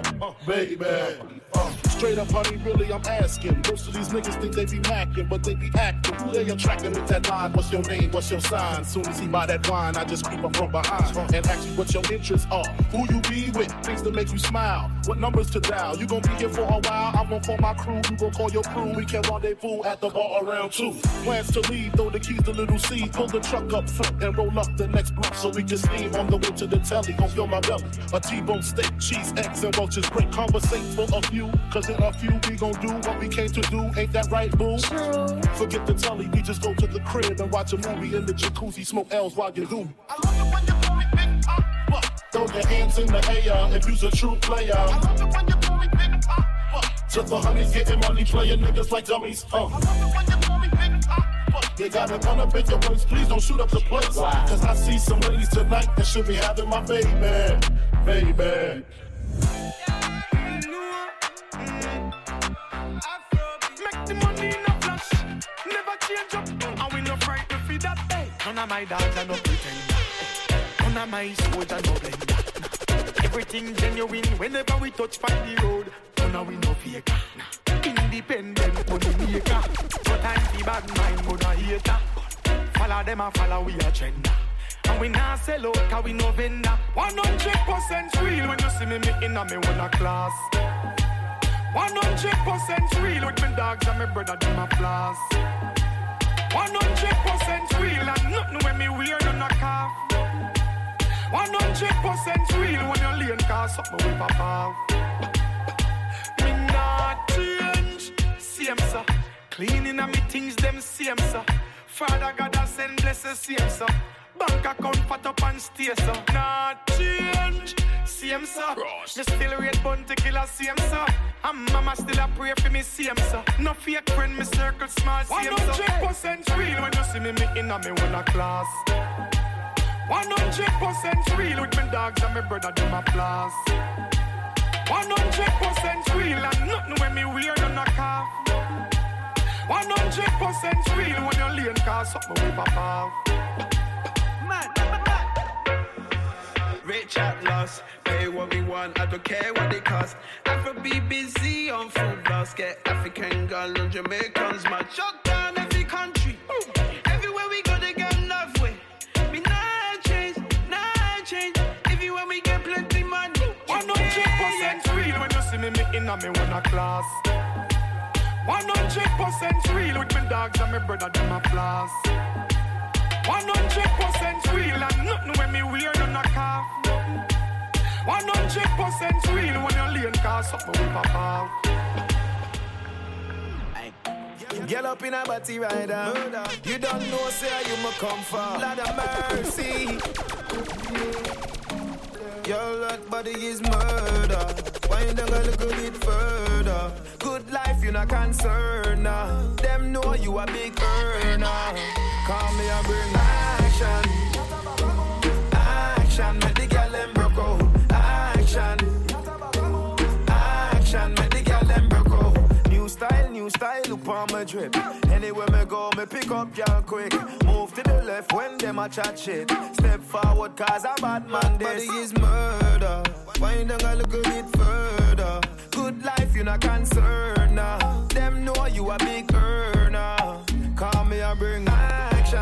Speaker 23: Straight up, honey, really, I'm asking. Most of these niggas think they be macking, but they be acting. Who they attracting with that line? What's your name? What's your sign? Soon as he buy that wine, I just creep up from behind and ask you what your interests are. Who you be with? Things that make you smile. What numbers to dial? You gon' be here for a while. I'm gon' call my crew. You gon' call your crew. We can rendezvous at the bar around 2. Plans to leave, throw the keys to Little C. Pull the truck up front and roll up the next block so we can steam on the way to the telly. Gon' fill my belly. A T-bone steak, cheese, eggs, and roaches. Great conversate for a few. Cause in a few we gon' do what we came to do. Ain't that right, boo? True. Forget the telly. We just go to the crib and watch a movie in the jacuzzi. Smoke L's while you do. I love it when you call me Big Pop. Throw your hands in the air if you's a true player. I love it when you call me Big Pop. To the honeys, getting money, playing niggas like dummies. I love it when you call me Big Pop. You gotta come up in your waist, please don't shoot up the place. Cause I see some ladies tonight that should be having my baby.
Speaker 2: Make the money in a flash.
Speaker 12: None of my dogs are no pretender. None of my soldiers no blender. Everything genuine whenever we touch by the road. None of we no faker. Independent money maker. No time for bad mind, but no hater. Follow them and follow we agenda. And we not sell out cause we no vendor. 100% real when you see me in a me one class. 100% real with my dogs and my brother them a floss. 100% real and nothing when me wear none a calf. 100% real when you lean cause something we pop off. Me not change, same sir. Cleaning and me things them same sir. Father God has send blessings same sir. Bank account fat up and stay so. Not change, same sir. Me still rate bounty killer same sir. And mama still a pray for me same sir. No fake friend, me circle small same sir. 100% real when you see me in a me one class. 100% real with my dogs and my brother them a floss. 100% real and nothing when me wear none a calf. 100% real when you lean cause something we pop off.
Speaker 16: Rich at loss, pay what we want, I don't care what it cost. Afro BBC on food loss, get African girl and Jamaicans mad. Shut down every country, everywhere we go they get love way. Me not change, everywhere we get plenty money.
Speaker 12: 100% real when you see me in a me one class. 100% real with my dogs and my brother them a floss. 100% real and nothing when me wear none a calf. 100% real when you lean cause something we pop off.
Speaker 18: Get up in a body rider. You don't know say you ma come for. Lord of mercy. Your lot body is murder. Why you don't go look a bit further? Good life you not concerned. Them know you a big earner. Call me and bring action. Action, make the girl them broke out. Action. Action, make the girl them broke out. New style, look on my drip. Anywhere me go, me pick up y'all quick. Move to the left when them a chat shit. Step forward cause a bad man this. Body is murder. Why you don't look a bit further? Good life you not concerned. Them know you a big earner. Call me and bring action.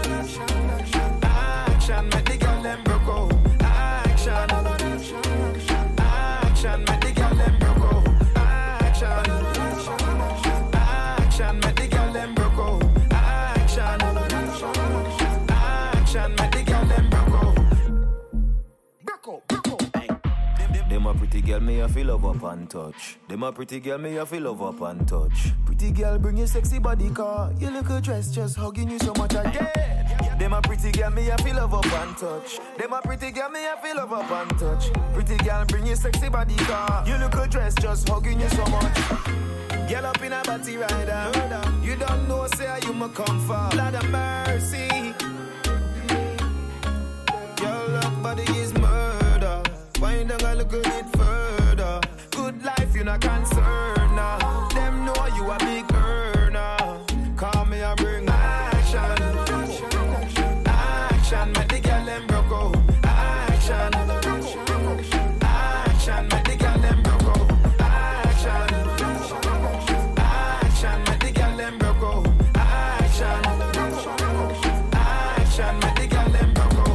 Speaker 18: Action, make the girl them broke out. Action. Action, make the girl them broke out. Action. Action, make the girl them broke out. Action. Action, make the girl them broke out. Broke out. Them a pretty girl, me a feel love up and touch. Them a pretty girl, me a feel love up and touch. Pretty girl, bring your sexy body car. You look a dress, just hugging you so much again. Them a pretty girl, me a feel love up and touch. Them a pretty girl, me a feel love up and touch. Pretty girl, bring your sexy body car. You look a dress, just hugging you so much. Girl up in a body rider. You don't know, say you ma come for. Lord of mercy. Your love body is murder. Why you don't look a bit further? Good life you not concerned. Them know you a big earner. Call me and bring action. Action, make the girl them broke out. Action. Action, make the girl them broke out. Action. Action, make the girl them broke out. Action. Action, make the girl them broke out.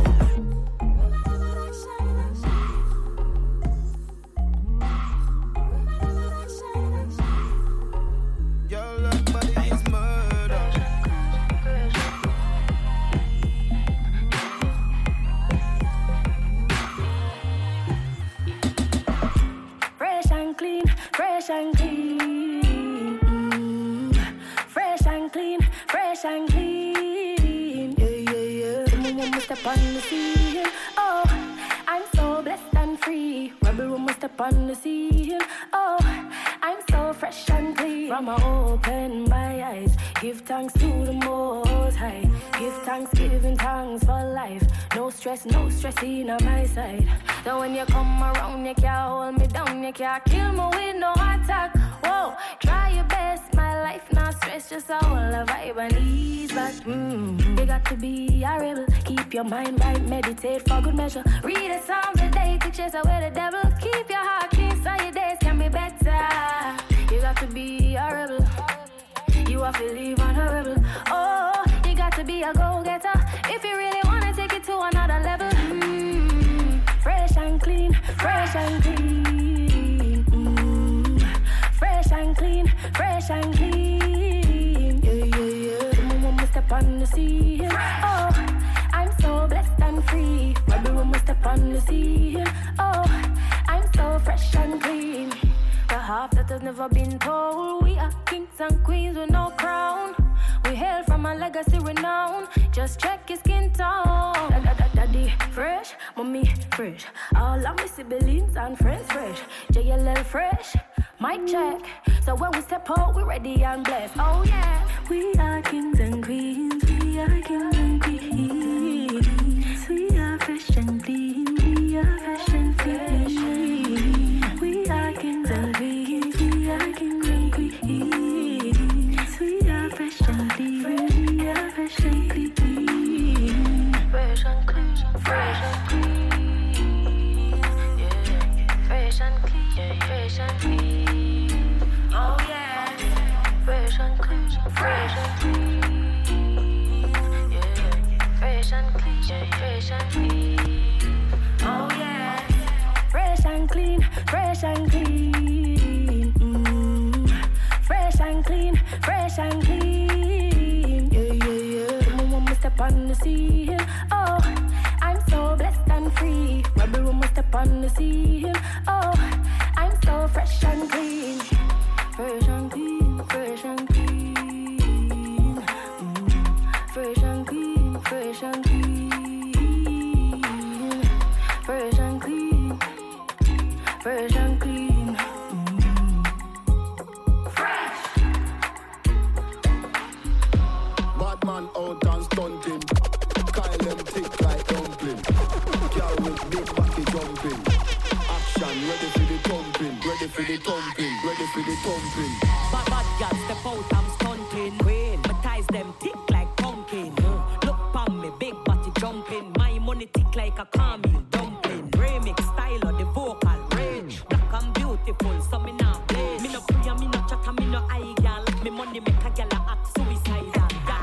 Speaker 18: Your love body is murder.
Speaker 24: Fresh and clean, fresh and clean. Fresh and clean, fresh and clean. Yeah. Someone must step on the scene. Oh, I'm so blessed and free. Rebel woman step on the scene. Oh, I'm so fresh and clean. From I open my eyes, give thanks to the Most High. Give thanks, giving thanks for life. No stress in on my side. So when you come around, you can't hold me down, you can't kill me with no attack. Whoa, try your best, my life not stress. it's just a whole vibe and ease back. You got to be a rebel. Keep your mind right, meditate for good measure. Read the Psalms a day to chase away the devil. Keep your heart clean so your days can be better. You got to be a rebel. You have to live on a rebel. Oh, you got to be a go-getter. If you really want to take it to another level. Fresh and clean, fresh and clean. Fresh and clean, fresh and clean. Yeah. The moment we step on the scene. Oh, I'm so blessed and free. Every moment we step on the scene. Oh, I'm so fresh and clean. The half that has never been told. We are kings and queens with no crown. We hail from a legacy renown. Just check your skin tone. Daddy fresh, mommy fresh. All of my siblings and friends fresh. JLL fresh, mic check. So when we step out, we ready and blessed. Oh yeah, we are kings and queens. We are kings and queens. We are fresh and clean. We are fresh and clean. We are kings and queens. We are kings and queens. We are fresh and clean. We are fresh and clean. Fresh and clean. Fresh and clean. Yeah. Fresh and clean. Fresh and clean. Oh yeah. Fresh and clean. Fresh and clean. Yeah. Fresh and clean. Fresh and clean. Oh yeah. Fresh and clean. Fresh and clean. Fresh and clean. Fresh and clean. Yeah. The moment we step on the scene. Oh, I'm so blessed and free. Every room we step on the scene. Oh, I'm so fresh and clean. Fresh and clean. Fresh and clean. Fresh and clean. Fresh and clean. Fresh and clean. Fresh and clean.
Speaker 10: Man out and stunting. Kyle them thick like dumpling. Girl with big body jumping. Action, ready for the thumping. Ready for the thumping. Ready for the thumping.
Speaker 9: Bad girls step out, I'm stunting. Queen, my ties them thick like pumpkin. Look pon me, big body jumping. My money thick like a caramel dumpling. Remix style of the vocal range. Black and beautiful, so me not play. Me no free and me no chat and me no eye girl. Me money make a girl act suicidal.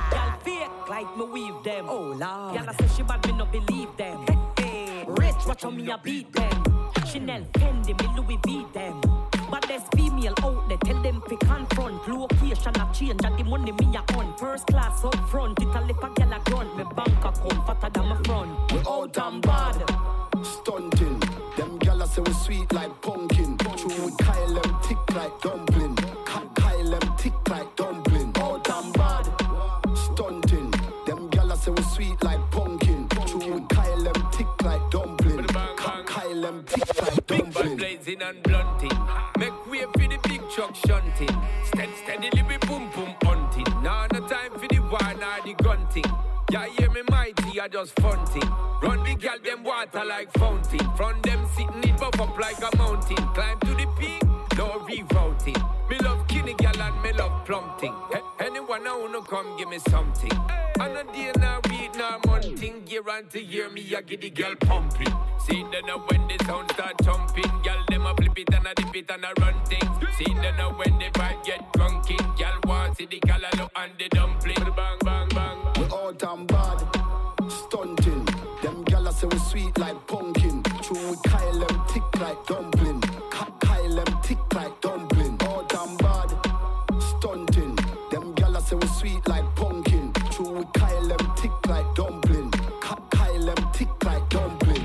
Speaker 9: Like me weave them. Oh Lord. Y'all say she bad, me no believe them. Hey, rich, watch how me a beat them. Chanel, Fendi, me Louis V them. But there's female out there, tell them fi confront. Location a change, and the money me a on. First class up front, it a lip a gyal a grunt. Me bank account fatter than my front.
Speaker 10: We out and bad, stunting. Them gyal say we sweet like pumpkin. True, we Kyle them thick like dumpling. Kyle them thick like dumpling. Out and bad, stunting. Say we sweet like pumpkin. True, we Kyle them thick like dumpling. Kyle them thick like dumpling.
Speaker 17: Big blazing and blunting. Make way for the big truck shunting. Steadily be boom boom hunting. Now no time for the war nor the gunting. Ya hear me mighty, I just funting. Run the gal them water like fountain. From them sitting it buff up like a mountain. Climb to the peak, no rerouting. Me love kinny gal and me love plumping. Anyone I wanna come give me something. And a day now read now monthing. Guarantee hear me I get the girl pumping. See then when the sound start jumping. Girl them a flip it and a dip it and a run things. See then when the vibe get drunken. Girl want see the callaloo and the dumpling. Bang bang bang.
Speaker 10: We out and bad, stunting. Them gyal say we sweet like pumpkin. True, we Kyle them thick like dumpling. Kyle them thick like dumpling. Out and bad, stunting. Them gyal say we sweet like pumpkin. True, we Kyle them thick like dumpling. Kyle them thick like dumpling.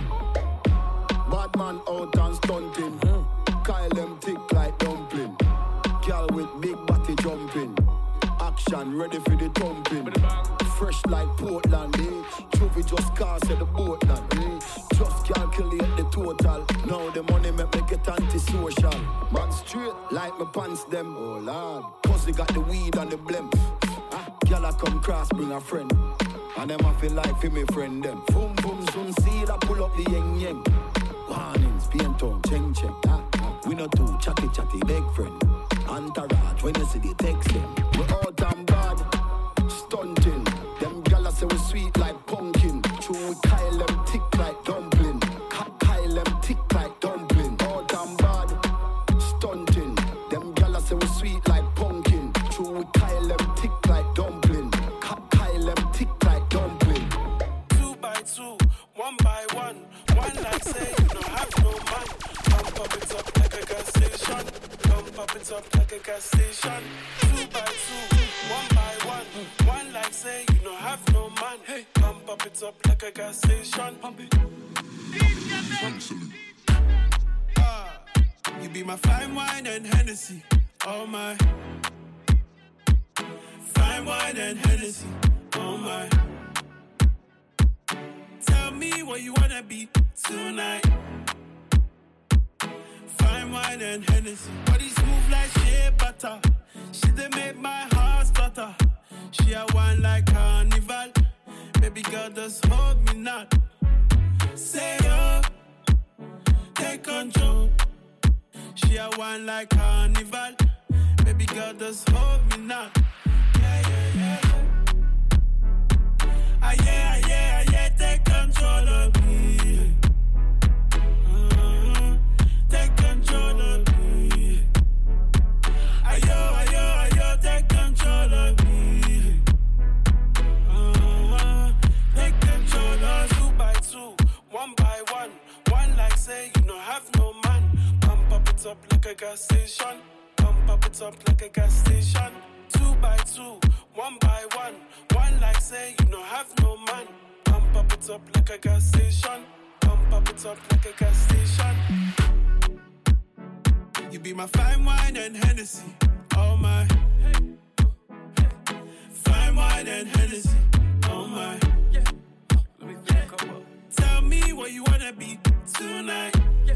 Speaker 10: Bad man out and stunting. Kyle them thick like dumpling. Gyal with big body jumping. Action ready for the thumping. Fresh like Portland, eh? Trophy just cast at the boatland, eh? Just calculate the total. Now the money make me get antisocial. Man straight like my pants them. Oh Lord, pussy got the weed and the blem. Girl I come cross bring a friend. And them I feel like for me friend them. Boom boom soon see I pull up the yeng yeng. Warnings, paint on, cheng cheng.
Speaker 6: We not too chatty, big friend. Entourage, when you see the text them. We out and bad, stunting. Them gala say we sweet like pumpkin. True, we Kyle them thick like dumpling. Kyle them thick like dumpling. Out and bad, stunting. Them gala say we sweet like pumpkin. True, we Kyle them thick like dumpling. Kyle them thick like dumpling.
Speaker 19: 2 by 2, 1 by 1. One like say you don't have no man. Pump up it up like a gas station. Pump up it up like a gas station. 2 by 2, 1 by 1. One like say you don't have no man. Hey, pump up it up like a gas station. Pump it. You be my fine wine and Hennessy. Oh my. Fine wine and Hennessy. Oh my. Tell me what you wanna be tonight. Fine wine and Hennessy. Body smooth like shea butter. She done make my heart stutter. She a wine like carnival. Baby girl, just hold me not. Say yo, take control. She a wine like carnival. Baby girl, just hold me not. Yeah, yeah, yeah. Ah, yeah, yeah, yeah, take control of me. Take control of me. Ayo, ayo, ayo, take control of me. Take control of 2 by 2, 1 by 1. One like say you don't have no man. Pump up it up like a gas station. Pump up it up like a gas station. 2 by 2, 1 by 1. One like say you don't have no man. Pump up it up like a gas station. Pump up it up like a gas station. You be my fine wine and Hennessy. Oh my. Fine wine and Hennessy. Oh my. Tell me what you wanna be tonight.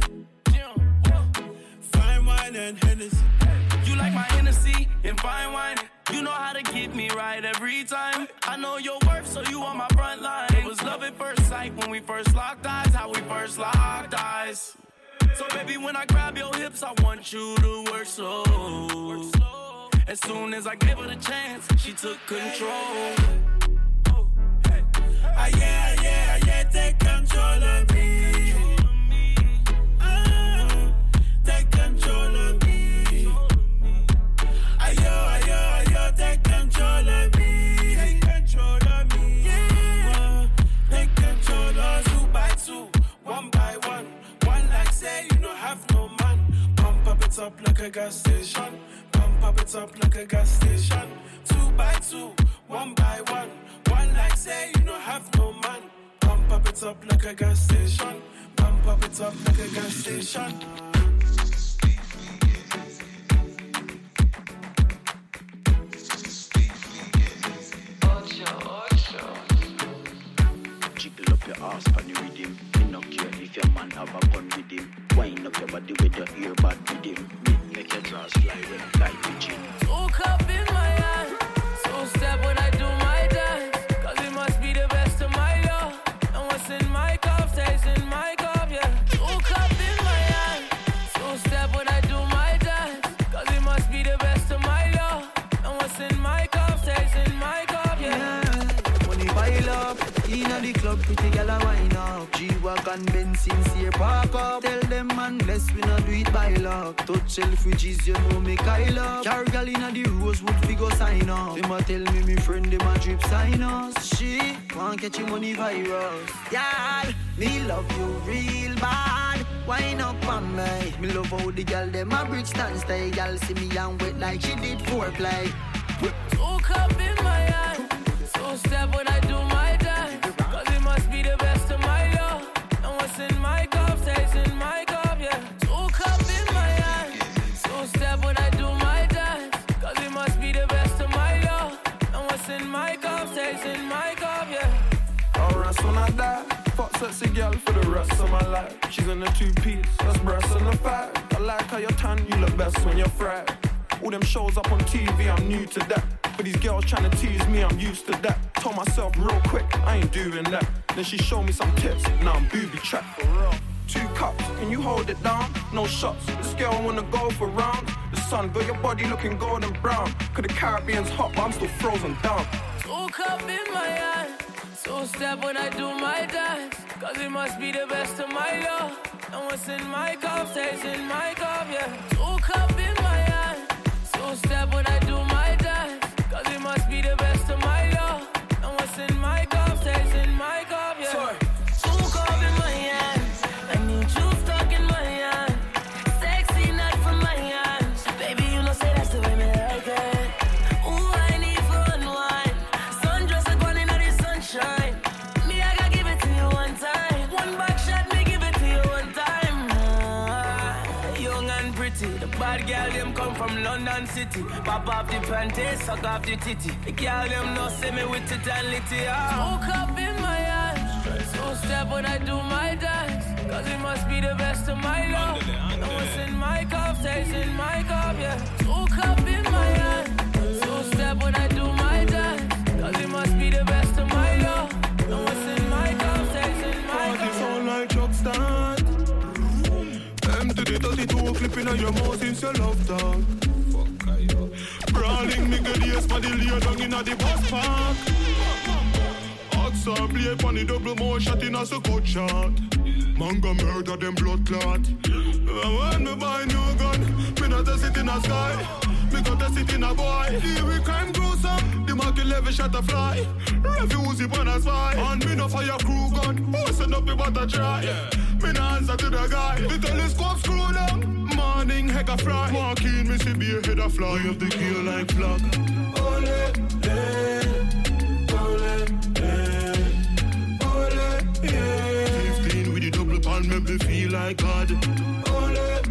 Speaker 19: Fine wine and Hennessy.
Speaker 14: You like my Hennessy and fine wine. You know how to get me right every time. I know your worth, so you on my front line. It was love at first sight when we first locked eyes. How we first locked eyes. So baby, when I grab your hips, I want you to work slow. As soon as I give her the chance, she took control.
Speaker 19: Ah, yeah, yeah, yeah, take control of me. Take control of me. Ayo, ayo, ayo, take control of me. Take control of me. Yeah. Take control of 2 by 2, 1 by 1. One like say you don't have no man. Pump up it up like a gas station. Pump up it up like a gas station. 2 by 2, 1 by 1. One like say you don't have no man. Pump up it up like a gas station. Pump up it up like a gas station.
Speaker 6: Jiggle up your ass on the rhythm. Me no care if your man have a gun with him. Wind up your body with your earbud with him. Make your drawers fly when like pigeon.
Speaker 14: 2 cup in my hand. 2 step when I do my dance. Cause it must be the best of my love. And what's in my cup stays in my cup, yeah. 2 cup in my hand. 2 step when I do my dance. Cause it must be the best of my love. And what's in my cup stays in my cup, yeah.
Speaker 20: Money pile up, inna the club, pretty girl a wine up. G-Wagon, Benz, sincere park up. Tell them man, bless we not do it by luck. Touch Selfridges, you know me Kyle up. Carry girl inna the Rosewood, fi go sign up. Them a tell me friend, them a drip sign us. She want catch your money virus. Y'all, me love you real bad. Wine up on me. Me love how the girl them a brick stand stay. Y'all see me and wet like she did foreplay.
Speaker 14: 2 cup in my hand. 2 step when I do my dance. Cause it must be the best of my love. And what's in my cup stays in my cup, yeah. 2 cup in my hand. 2 step when I do my dance. Cause it must be the best of my love. And what's in my cup stays in my cup, yeah.
Speaker 19: I'll rest when I die. Fuck sexy girl for the rest of my life. She's in a 2-piece, that's breasts and a 5. I like how you're tan, you look best when you're fried. All them shows up on TV, I'm new to that. But these girls trying to tease me, I'm used to that. Told myself real quick, I ain't doing that. Then she showed me some tips, now I'm booby trapped. For real.
Speaker 1: 2 cups, can you hold it down? No shots, this girl wanna go for round. The sun got your body looking golden brown. Cause the Caribbean's hot, but I'm still frozen down.
Speaker 11: 2 cup in my hand, 2 step when I do my dance. Cause it must be the best of my love. And what's in my cup stays in my cup, yeah. 2 cup in my hand, 2 step when I do my dance. Cause it must be the best of my love. And what's in my cup stays in my cup, yeah.
Speaker 1: Sorry.
Speaker 11: 2 cup in my hand, I need you stuck in my hand. Sexy nut from my hand. Baby, you know say that's the way me like it. Ooh, I need for unwind. Sundress like one in the sunshine. Me, I gotta give it to you one time. One back shot, me give it to you one time. Young and pretty, the bad girl them come from London City. Pop off the panties, suck off the titty. The girl them no see me with it and litty. 2 cup in my hand, 2 step when I do my dance. Cause it must be the best of my love. And what's in my cup stays in my cup, yeah. 2 cup in my hand, 2 step when I do my dance. Cause it must be the best of my love. And what's in my cup stays in my cup.
Speaker 1: Party sound like truck start. Empty the 32 clipping on your mouth since your love dog. Brawling nigga days for the lay down inna the bus park. Outside blade on the double more shot in a cut shot. Manga murder them blood clot. When me buy new gun, me not test it in a sky. Me got test it in a boy. Here we crime gruesome, the market level shot a fly. Refuse it when I spy. And me no fire crew gun, who send up the butter try. Me no answer to the guy, the telescope screw down. Morning heck a fry. Walking me see be a head a fly. Of the kill like flag. Ole, yeah. 15 with the double pan make me feel like God. Ole,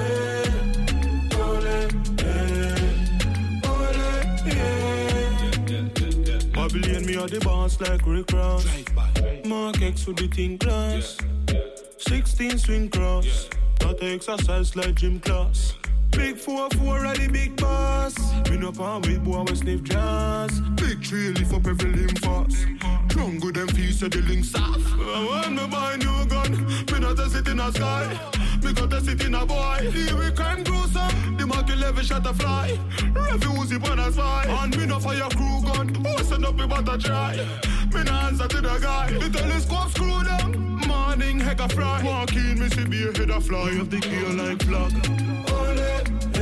Speaker 1: Babylon me are the boss like Rick Ross. Mark X with the thin glass. 16 swing cross. That exercise like gym class. Big 4-4 are the big boss. Me no pan with boy we sniff jazz. Big tree lift up every limb fast. Jungle them feet so the links off. When me buy new gun, me not test it in a sky. Me got test it in a boy. Here we crime gruesome, the market level shot a fly. Refuse it when I spy. And me no fire crew gun, who send up the butter try. Me no answer to the guy, the telescope screw down. Morning heck a fry. Walking me see be a head a fly. Of the kill like flag. Ole,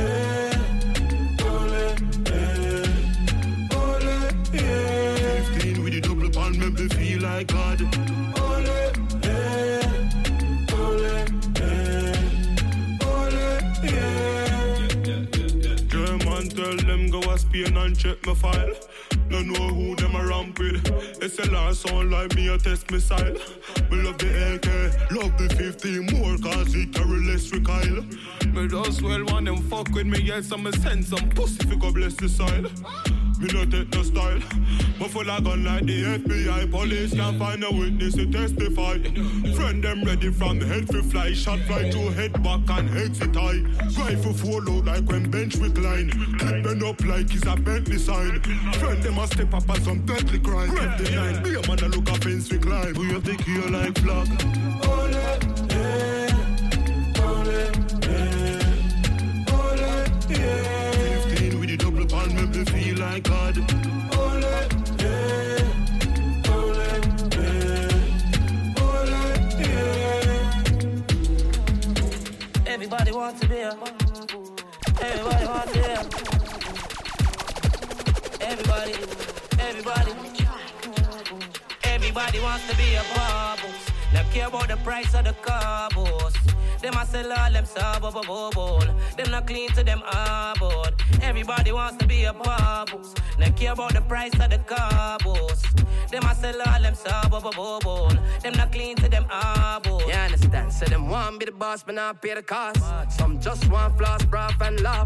Speaker 1: yeah. 15 with the double pan make me feel like God. Ole, yeah. German tell them go a Spain and check my file. No know who them a ramp with. SLR sound like me a test missile. Me love the AK, love the 50 more cause it carry less recoil. Me just well want them fuck with me, yes, I'ma send some pussy if you go bless the soil. Me no take no style, but full of gun like the FBI. Police can't find a witness to testify. Friend them ready from head for fly. Shot fly to head back and exit eye. Rifle follow like when bench recline. Clipping up like it's a Bentley sign. Friend them a step up as some deadly crime. Grab the line, be a man a look a fence we climb. We have the key like flag. Ole, yeah. 15 with the double pan make me feel like God. Ole, yeah.
Speaker 11: Everybody wants to be a. Everybody wants to be a. Everybody wants to be a boss. Not care about the price of the carbos. Them a sell all them sub-a-bo-bo-bo. Them not clean to them aboard. Everybody wants to be a boss. Not care about the price of the carbos. Them a sell all them sub-a-bo-bo-bo. Them not clean to them aboard.
Speaker 21: You understand? So them want be the boss but not pay the cost. Some just want floss, broth and laugh. I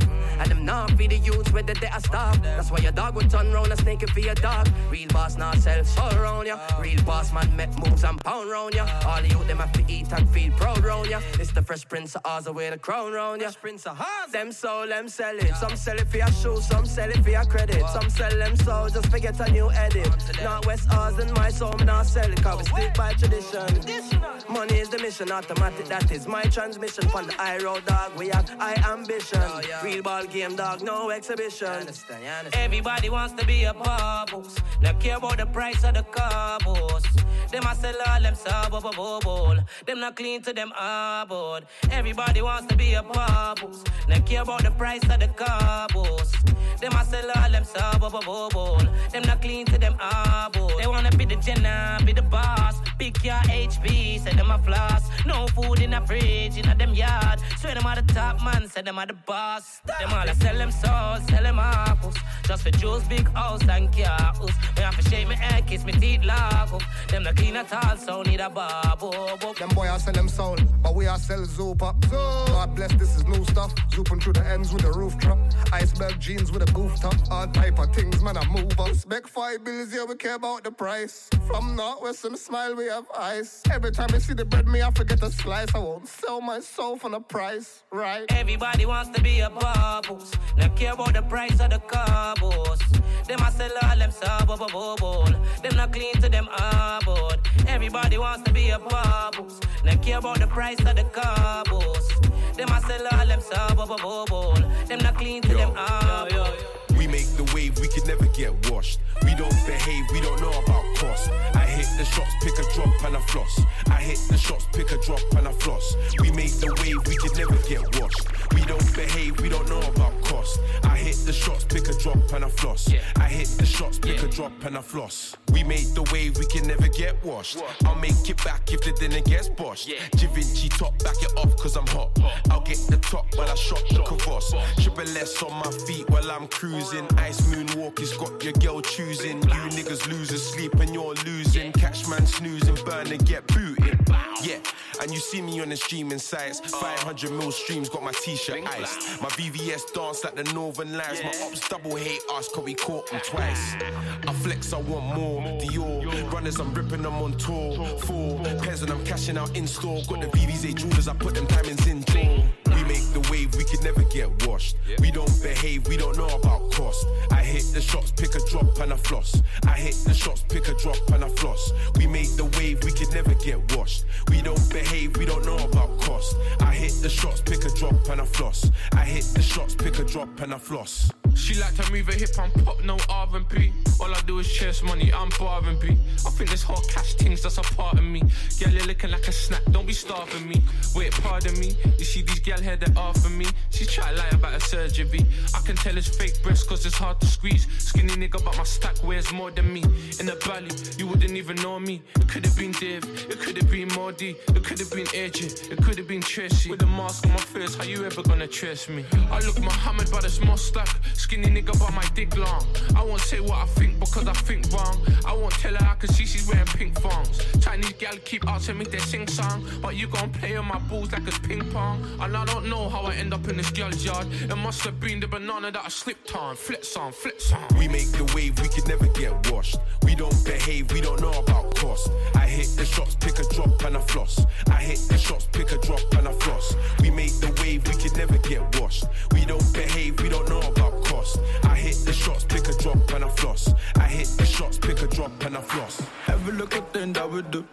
Speaker 3: them not feed the youths whether they are starved. That's why your dog would turn round and snake it for your dog. Real boss not sell soul round ya. Real boss man make moves and pound round ya. All the youth them have to eat and feel proud round ya. It's the Fresh Prince of Oz with the crown round ya. Them soul, them sell it. Some sell it for your shoes, some sell it for your credit. Some sell them soul just to get a new edit. Not West Oz and my soul, me not sell it. Cause we stick by tradition. Money is the mission, automatic that is my transmission. From the high road dog, we have high ambition. Real ball game dog, no exhibition.
Speaker 8: Everybody wants to be a bubbles. Don't care about the price of the carbos. Them a sell all them sub-bubble. Them not clean to them aboard. Everybody wants to be a bubbles. Don't care about the price of the carbos. Them a sell all them sub-bubble. Them not clean to them aboard. They wanna be the Jenna, be the boss. Big car HB, say them a floss. No food in the fridge, in a them yard. Swear them are the top man, say them are the boss. Them all a sell them souls, sell them apples. Just for Joe's big house and cars. Me have to shake my hair, kiss me teeth lock up. Them not clean at all, so need a bubble.
Speaker 21: Them boy I sell them soul, but we are sell Zoop up. God bless, this is new stuff. Zooping through the ends with a roof truck. Iceberg jeans with a goof top. All type of things, man, I move up. Spec 5 bills, yeah, we care about the price. From Northwest, some smile, we have ice. Every time I see the bread, me, I forget a slice. I won't sell my soul for the price, right?
Speaker 8: Everybody wants to be a bubbles. Not care about the price of the carbos. Them a sell all them sub-bubble. Them not clean to them aboard. Everybody wants to be a bubbles. Not care about the price of the carbos. Them a sell all them sub-bubble. Them not clean to them aboard.
Speaker 22: We make the wave, we could never get washed. We don't behave, we don't know about cost. I hit the shots, pick a drop and a floss. I hit the shots, pick a drop and a floss. We make the wave, we could never get washed. We don't behave, we don't know about cost. I hit the shots, pick a drop and a floss. I hit the shots, pick a drop and a floss. We make the wave, we can never get washed. I'll make it back if the dinner gets boshed. Givenchy top, back it off cause I'm hot. I'll get the top while I shot the Kavos. Triple S on my feet while I'm cruising. Ice moonwalk has got your girl choosing. You niggas losing sleep and you're losing. Catch man snoozing, burn and get booted. Yeah, and you see me on the streaming sites. 500 mil streams, got my t-shirt iced. My VVS dance like the Northern Lights. My ops double hate us cause we caught them twice. I flex, I want more. Dior runners, I'm ripping them on tour. 4 pairs and I'm cashing out in store. Got the VVS jewelers, I put them diamonds in jaw. We make the wave, we could never get washed. We don't behave, we don't know about cost. I hit the shots, pick a drop and a floss. I hit the shots, pick a drop and a floss. We make the wave, we could never get washed. We don't behave, we don't know about cost. I hit the shots, pick a drop and a floss. I hit the shots, pick a drop and a floss.
Speaker 25: She like to move a hip and pop, no R&B. All I do is chase money, I'm boring B. I think this hot cash things, that's a part of me. Girl, you're looking like a snack, don't be starving me. Wait, pardon me, you see these gal here that are for me. She try to lie about her surgery. I can tell it's fake breast cause it's hard to squeeze. Skinny nigga but my stack wears more than me. In the valley, you wouldn't even know me. It could have been Dave, it could have been Mordy. It could have been AJ, it could have been Tracy. With a mask on my face, how you ever gonna trace me? I look Muhammad but it's more stack. Skinny nigga but my dick long. I won't say what I think because I think wrong. I won't tell her I can see she's wearing pink thongs. Chinese gal keep asking me they sing song, but you gon' play on my balls like it's ping pong. And I don't know how I end up in this girl's yard. It must have been the banana that I slipped on. Flips on, flips on.
Speaker 22: We make the wave, we could never get washed. We don't behave, we don't know about cost. I hit the shots, pick a drop and a floss. I hit the shots, pick a drop and a floss. We make the wave, we could never get washed. We don't behave, we don't know about cost. I hit the shots, pick a drop and a floss. I hit the shots, pick a drop and a floss.
Speaker 20: Every little thing that we do,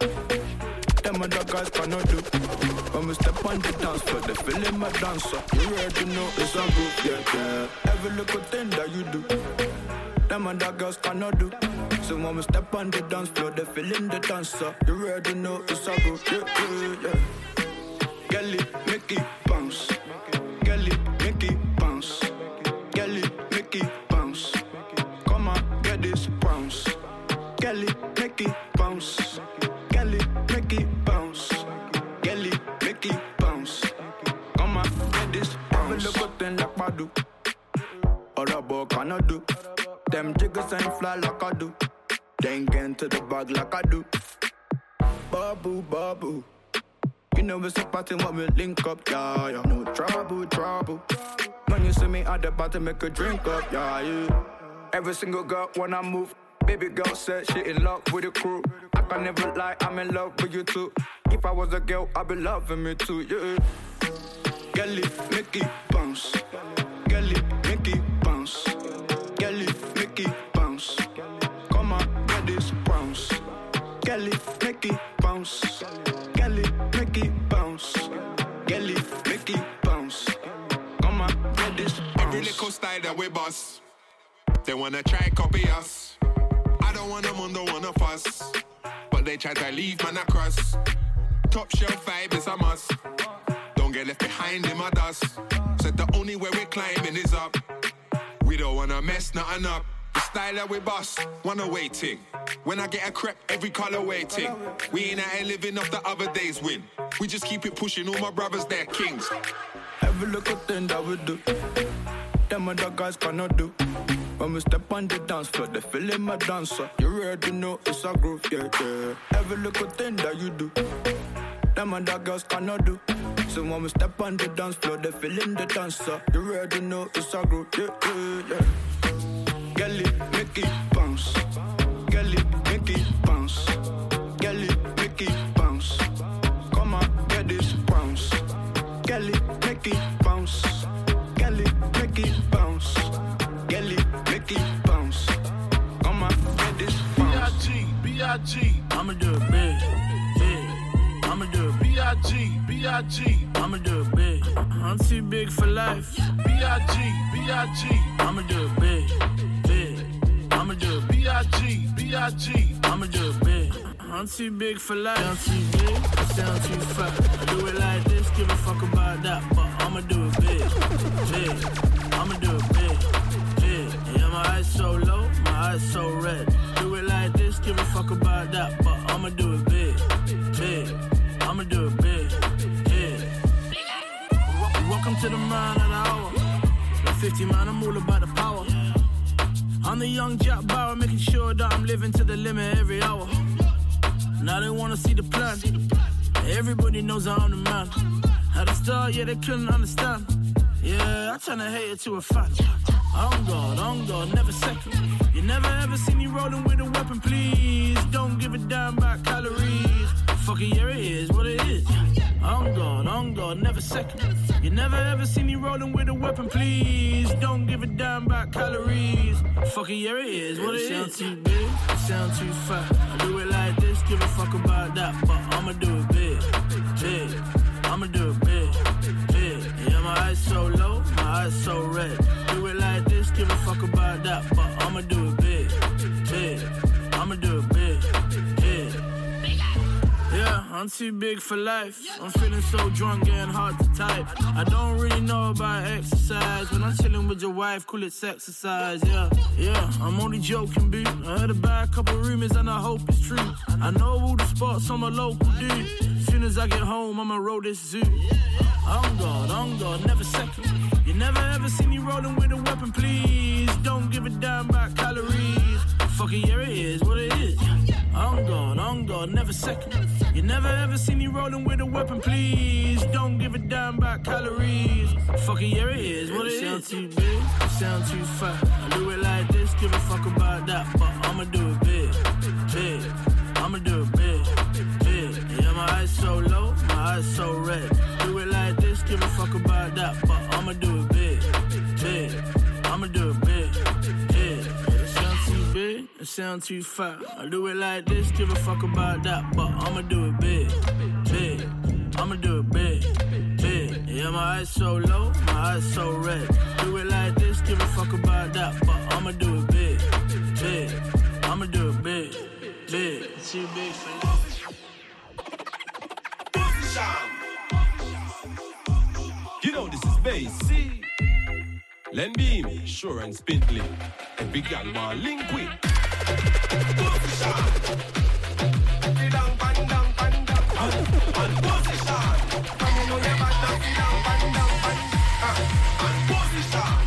Speaker 20: them other guys cannot do. When we step on the dance floor, they feeling my dancer. You already know it's a group, yeah. Every little thing that you do, them other girls cannot do. So when we step on the dance floor, they feeling the dancer. You already know it's a group, yeah. Gelly, Mickey, bounce. Gelly, Mickey, bounce. Gelly, Mickey, bounce. Come on, get this bounce. Gelly, Mickey, bounce. Gelly, Mickey, bounce. Gelly, Mickey, bounce. Come on, get this bounce. Every little thing like I do, other boy cannot do. Them jiggers ain't fly like I do. They ain't get into the bag like I do. Babu, babu. You know it's a party when we link up, yeah. No trouble.
Speaker 4: When you see me at the bottom, make a drink up, yeah. Every single girl when I move, baby girl said she in love with the crew. I can never lie, I'm in love with you too. If I was a girl, I'd be loving me too, yeah. Girl it, make it bounce. Girl it, make it bounce. Girl it, make it bounce. Come on, get this bounce. Girl it, make it bounce. Girl it, make it bounce. Girl it, make it bounce. Come on, get this bounce.
Speaker 5: Every little style that we bust, they wanna try copy us. I don't want them on, don't wanna fuss, but they try to leave man across. Top shelf vibe is a must. Don't get left behind in my dust. Said the only way we're climbing is up. We don't wanna mess nothing up. The style that we bust, one away ting. When I get a crepe, every color waiting. We ain't out here living off the other day's win. We just keep it pushing, all my brothers, they're kings.
Speaker 4: Every little thing that we do, them other guys cannot do. When we step on the dance floor, they feeling my dancer. You already know it's a groove, yeah, yeah. Every little thing that you do, them other girls cannot do. So when we step on the dance floor, they feeling the dancer. You already know it's a groove, yeah, yeah, yeah. Girl it, make it bounce. Girl it, make it bounce. Girl it, make it bounce. Come on, get this bounce. Girl it, make it bounce. Girl it, make it bounce. Girl it, make it bounce. Come on, get this bounce.
Speaker 19: B.I.G.
Speaker 7: I'ma do it big, big. I'ma do it
Speaker 19: B.I.G.
Speaker 7: I'ma do it big. I'm too big for life.
Speaker 19: B.I.G.
Speaker 7: I'ma do it big, big. I'ma do it
Speaker 19: B.I.G.
Speaker 7: I'ma do it big. I'm too big for life. Sound too big, I sound too fat. I do it like this, give a fuck about that. But I'ma do it big, big. I'ma do it big, big. Yeah, my eyes so low, my eyes so red. Do it like this, give a fuck about that. But I'ma do it big, big. I'ma do it big, big. Welcome to the man of the hour. At 50 man, I'm all about the power. I'm the young Jack Bauer, making sure that I'm living to the limit every hour. Now they wanna see the plan. Everybody knows I'm the man. At the start, yeah, they couldn't understand. Yeah, I tryna hate it to a fact. On God, never second. You never ever see me rolling with a weapon, please. Don't give a damn about calories. Fuck it, yeah, it is what it is. On God, never second. You never ever see me rolling with a weapon, please. Don't give a damn about calories. Fuck it, yeah, it is what it is. Sound too big, sound too fat. I do it like this, give a fuck about that. But I'ma do it big, big. I'ma do it big, big. Yeah, my eyes so low, my eyes so red. Do it like this, give a fuck about that. But I'ma do it big, big. I'ma do it big, big. Yeah, I'm too big for life. I'm feeling so drunk, getting hard to type. I don't really know about exercise. When I'm chilling with your wife, call it sexercise. Yeah, I'm only joking, boo. I heard about a couple rumors and I hope it's true. I know all the spots, I'm a local dude. Soon as I get home, I'ma roll this zoo. On God, never second. You never ever see me rolling with a weapon, please. Don't give a damn about calories. Fuck it, yeah, it is what it is. On God, never second. You never ever see me rolling with a weapon, please. Don't give a damn about calories. Fuck it, yeah, it is what it is. Sound too big, sound too fat. I do it like this, give a fuck about that. But I'ma do it big, big. I'ma do it big, big. Yeah, my eyes so low, my eyes so red. Do it like this, give a fuck about that. But I'ma do it big, big. I'ma do it big, big. It sound too big, it sound too fat. I do it like this, give a fuck about that. But I'ma do it big, big. I'ma do it big, big. Yeah, my eyes so low, my eyes so red. Do it like this, give a fuck about that. But I'ma do it big, big. I'ma do it big, big. It's too big for you.
Speaker 22: You know this is bass. Len Beam, Sure and Spintley. Every gal want link with. And position. Come on, you back down, and position.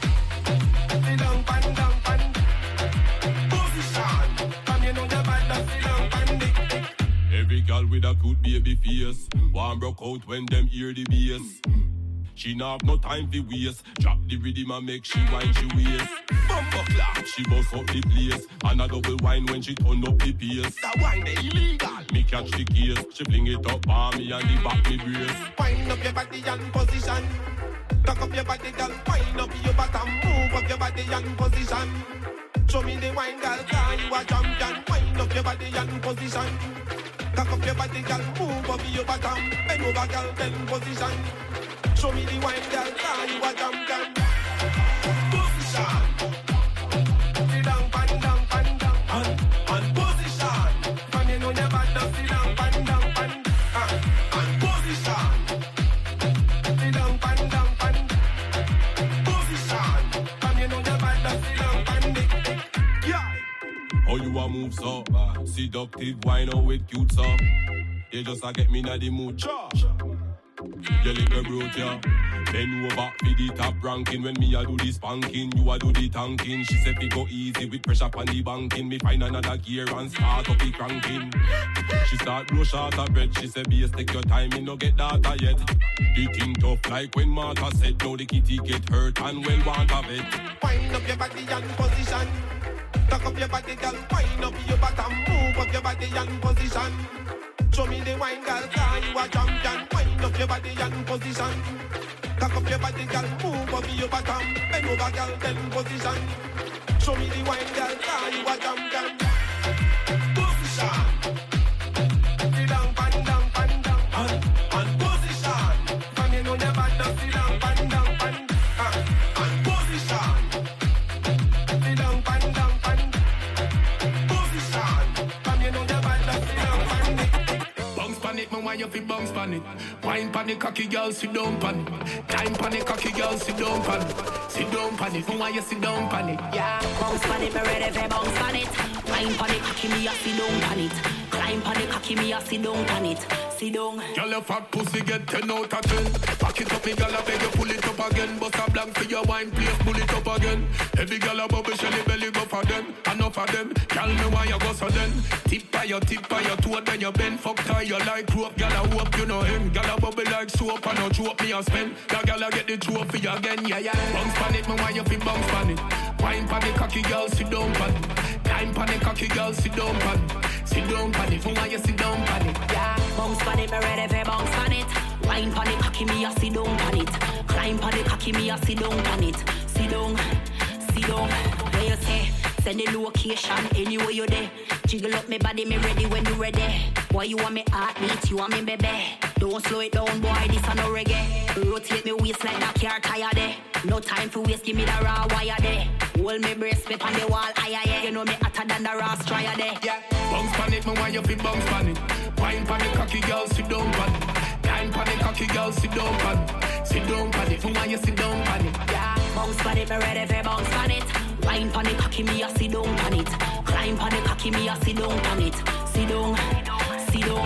Speaker 22: Position. Come you know you back down, every gal with a good baby face. One broke out when them hear the bass.
Speaker 1: She not have no time for waste. Drop the rhythm and make she wine she waist. Bumper clap, she bust up the place. And a double wine when she turn up the pace. That wine they illegal. Me catch the case. She fling it up on me and the back me brace.
Speaker 2: Wind up your body and position. Cock up your body, girl. Wind up your bottom. Move up your body and position. Show me the wine, girl. Cause you a champion. Wind up your body and position. Cock up your body, girl. Move up your bottom. Bend over, girl. Then position. Show me the wine, girl. Cause you a champion. Position. Sit down, pan down, pan down. And position. From you know your bad now. Sit down, pan down, pan. And position. Sit down, pan down, pan. Position. From you know your bad now. Sit down, pan. Yeah.
Speaker 1: How you a move so? Seductive wine out with cute so. You just a get me na the mood. You little brute, yeah. Bend over for the top ranking. When me a do the spanking, you a do the tanking. She said we go easy with pressure on the banking. Me find another gear and start up the cranking. She start blow short of bread. She said, "Base, take your time, me no get data yet." The thing tough like when Martha said, "Now the kitty get hurt and well want of it."
Speaker 2: Wind up your body and position. Tuck up your body, girl. Wind up your bottom. Move up your body and position. Show me the wine, girl. Cause you a champion. Wind up your body and position. Tuck up your body, girl. Move up your bottom. Bend over, girl. Then position. Show me the wine, girl. Cause you a champion. Position. Sit down, pan down, pan down. And position. From you know the bad now. Sit down, pan down, pan. And position. Sit down, pan down, pan. Position. From you know the bad now. Sit down, pan.
Speaker 13: Bounce pan it, man, why you feel bounce pan it? Wine pan it, cocky girl, sit down pan it. Time pan it, cocky girl, sit down pan it. Sit down pan it, man, why you sit down pan it?
Speaker 9: Yeah, bounce pan it, me ready for bounce pan it. Wine pan it, cocky me, I sit down pan it. Climb pan it, cocky me, I sit down pan it. Sit down.
Speaker 13: Girl, your fat pussy get 10 out of 10. Back it up, me girl, I beg you pull it up again. Bust a blank for your wine, please pull it up again. Every girl a bubble, shelly belly go for them. Enough of them, girl, me why you go so then. Tip by your toe, then you bend. Fuck tie you like rope, girl, I hope you know him. Girl, a bubble like soap, and no choke me a spend. That girl, I get the trophy again, yeah, yeah. Bounce pan it, me why you feel bounce pan it. Wine pan it, cocky girl, sit down pan it. Time pan it, cocky girl, sit down pan it. Sit down pan it, me why you sit down pan it.
Speaker 9: Yeah, bounce pan it, me ready for bounce pan it. Wine pan it, cocky me, I sit down pan it. Climb pan it, cocky me, I sit down pan it. Sit down, sit down. Where you say? Send the location anywhere you there. Jiggle up me body, me ready when you ready. Boy, you want me heartbeat, you want me baby. Don't slow it down, boy, this a no reggae. Rotate me waist like that car tire there. No time for waste, give me the raw wire there. Hold me brace, spit on the wall, aye. You know me hotter than the raw strier there.
Speaker 13: Yeah, bounce pan it, me why you feel bounce pan it. Wine pan it, cocky girl, sit down pan it. Time pan it, cocky girl, sit down pan it. Sit down pan it, me why you sit down pan it.
Speaker 9: Yeah, bounce pan it, me ready for bounce pan it. Wine pan it, cocky me, I sit down pan it. Climb pan it, cocky me, I sit down pan it. Sit down, sit down.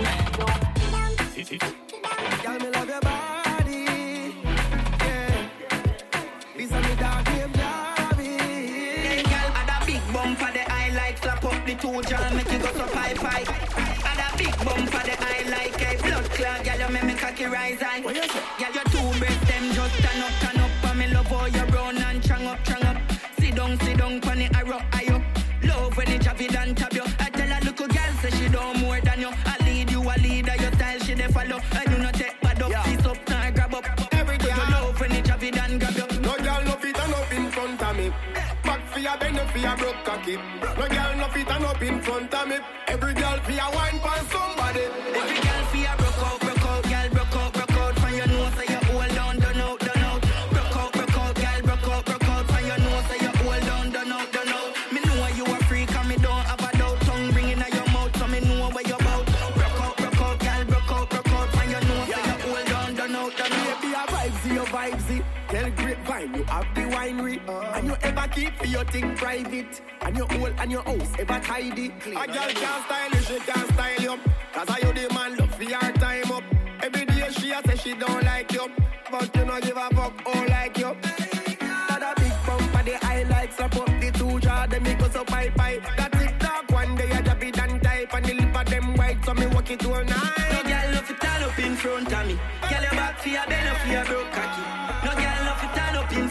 Speaker 2: Girl, me love your body. Yeah. This is me dog named Javi.
Speaker 14: Hey, girl, add a big bum for the eye like slap up the two jaw, make you go so pie. Add a big bum for the eye like a blood clot. Girl, you make me cocky rise high. Girl, your two breasts them just turn up. And me love how you run and chang up. Sit down, pan it, I rock, I up. Love when it chop it and tap you. I tell a little girl, say she don't more than you. I lead you, a leader, your style, she dey follow. I do not take bad up, sit up, now grab up. Every day you love when it chop it and grab you.
Speaker 2: No girl no fit and up in front of me. Back for your bend, for your broke cocky. No girl no fit and up in front of me. Every girl for your wine pan somebody.
Speaker 14: Every girl for your broke out, girl broke out. From your nose, say you hold down, done out. Broke out, girl broke out. From your nose, say you hold down, done out. Me know you a freak and me don't have a doubt. Tongue ringing out your mouth, so me know where you're about. Broke out, girl broke out. From your nose, say you hold down, done out.
Speaker 2: Baby, a vibesy. Tell grapevine you have the winery. And you ever keep for your thing private. And your hole and your house ever tidy. A girl can't style you, she can't style you. Cause I you the man love for your time up. Every day she a say she don't like you. But you don't give a fuck, all like you. Got a big bump for the eye like slap up the two jaw, them me go so pie. That TikTok one day I drop it and type. And the lip of them white, so me walk it all night.
Speaker 14: No girl love it all up in front of me. Girl your back for your belly, for your broke cocky.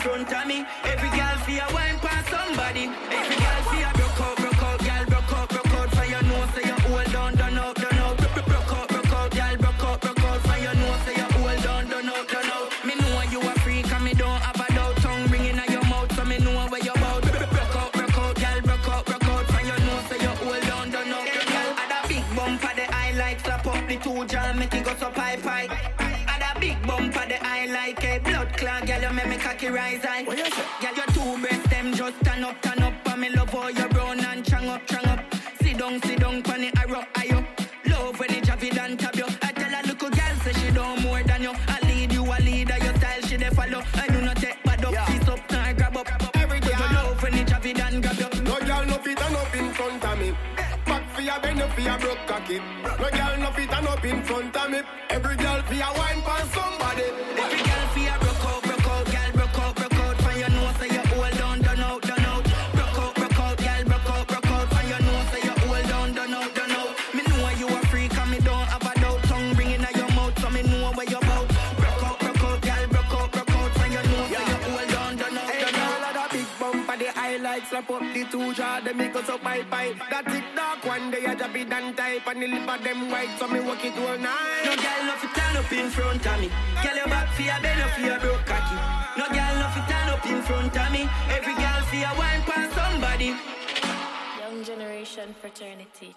Speaker 12: front of me. Every girl feel a wine past somebody. Every girl feel a broke out, girl, broke out. For your nose, say you hold on, done out. Broke out, girl, broke out. For your nose, say you hold on, done out. Me know you a freak and me don't have a doubt. Tongue ringing at your mouth, so me know where you about. Broke out, girl, broke out. For your nose, say you hold on, done out. Girl, had a big bump for the eye like slap up the two jar, make it go so pie. Big bump for the eye like a blood clot. Girl, you make me cocky rise high. Girl, your two breasts, them just turn up. And me love how you brown and strong up. Sit down, pan it, I rock, I up. Love when it javid and tab you. I tell a little girl, say she don't more than you. I lead you, a leader, your style, she dey follow. I do not take bad up, kiss up, now grab up. Every girl, you love when it javid and grab you.
Speaker 2: No girl, no fit and up in front of me. Back for your bend, for your broke cocky. No girl, no fit and up in front of me. Every girl for your wine pan somebody.
Speaker 12: Every girl for your broke out, girl, broke out. For your nose, say you hold on, done out. Broke out, girl, broke out. For your nose, say you hold on, done out. Me know you a freak and me don't have a doubt. Tongue ringing at your mouth, so me know where you about. Broke out, girl, broke out. For your nose, say you hold on, done out.
Speaker 2: Hey, girl, had a big bump for the highlights. Slap up the two jaw, them make us up bye. That thick dark one day, I just be done type. And the lip of them white, so me walk it all night.
Speaker 12: No girl, no fit turn up in front of me. Girl, your back for your belly, for your broke cocky. No girl, no fit turn up in front of me. Every girl for your wine past somebody.
Speaker 24: Young Generation Fraternity.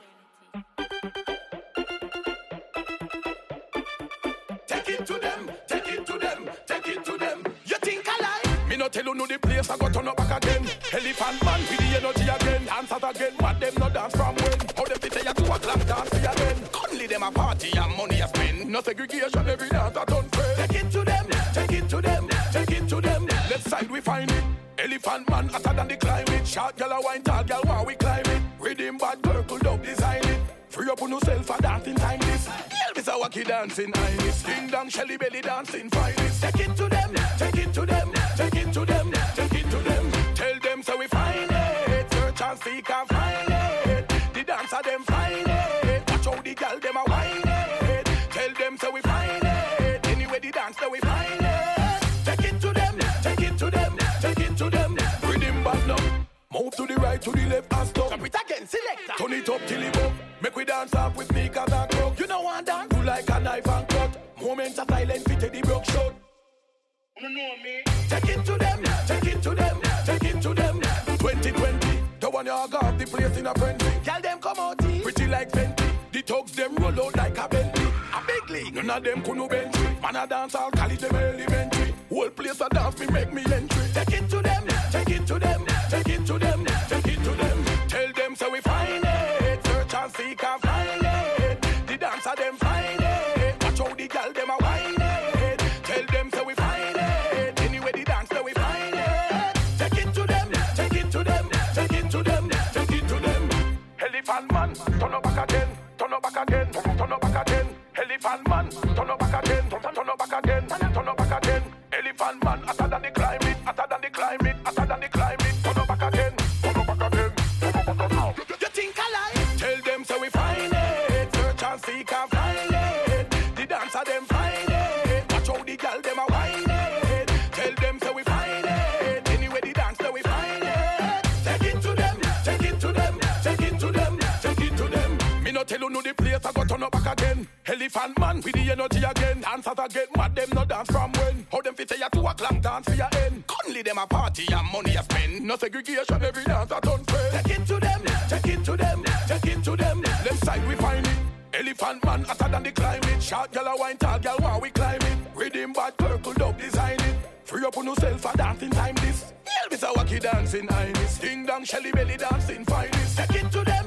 Speaker 13: Take it to them. You think I lie? Me no tell you no the place I go turn up back again. Elephant man with the energy again. Dance out again, but them no dance from when. How them fit say you 2 o'clock dance for again. Only them a party and money a spend. No segregation, every dance a done fair. Take it to them. Left side we find it. Elephant man hotter than the climate. Short girl a wine, tall girl while we climb it. Rhythm bad girl could up design it. Free up on yourself for dancing time this. Elvis a wacky dancing Iris. Ding dong Shelly belly dancing finest. Take it to them. Tell them so we find it. Search and seek and find it. The dancer them find it. Watch how the girl them a whine it. Tell them so we find it. Anyway the dance so we find it. Take it to them. Rhythm back now. Move to the right, to the left and stop. Jump it again, selector. Turn it up till it up. Make we dance up with sneakers and crocs. You know one dance. Do like a knife and cut. Moments of silence, fit the broke shot. You know me. Take it to them. 2020. The one you got the place in a frenzy. Tell them come out here. Pretty like Fenty. The thugs them roll out like a Bentley. A big league. None of them could no bench. Man a dance, I'll call it them elementary. Whole place a dance, me make me entry. Take it to them. Tell them so we find it. Search and seek and find it. The dancer them find it. Watch how the girl them a whine it. Tell them so we find it. Anyway the dance so we find it. Take it to them. Elephant man, turn up back again. Elephant man, turn up back again. Elephant man, hotter than the climate. Turn up back again. You think I lie? Tell them so we find it. Search and seek and find it. The dancer them find it. Watch how the girl them a whine it. Tell them so we find it. Anyway the dance so we find it. Take it to them. Me no tell you no the place I go turn up back again. Elephant man with the energy again. Dancers again, mad them no dance from when. How them fit say you 2 o'clock dance for your end. Only them a party and money a spend. No segregation, every dance a done fair. Take it to them. Left side we find it. Elephant man hotter than the climate. Short girl a wine, tall girl while we climb it. Rhythm bad purple dub design it. Free up on yourself for dancing time this. Elvis a wacky dancing Iris. Ding dong Shelly belly dancing finest. Take it to them.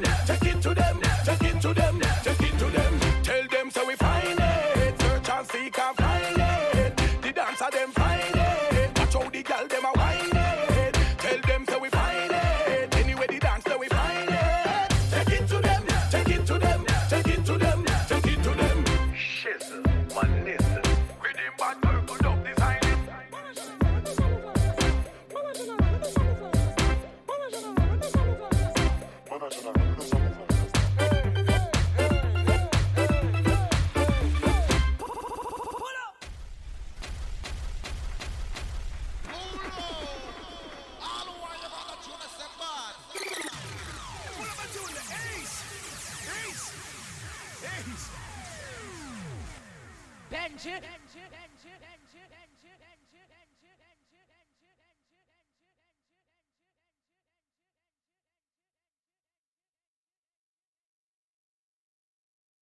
Speaker 13: Tell them so we find it. Search and seek and find it. The dancer them find it. Watch how the girl them a whine it. Tell them so we find it. Anyway the dance so we find it. Take it to them. Shizzle, one nizzle. Rhythm bad purple dub design it.
Speaker 15: Benji.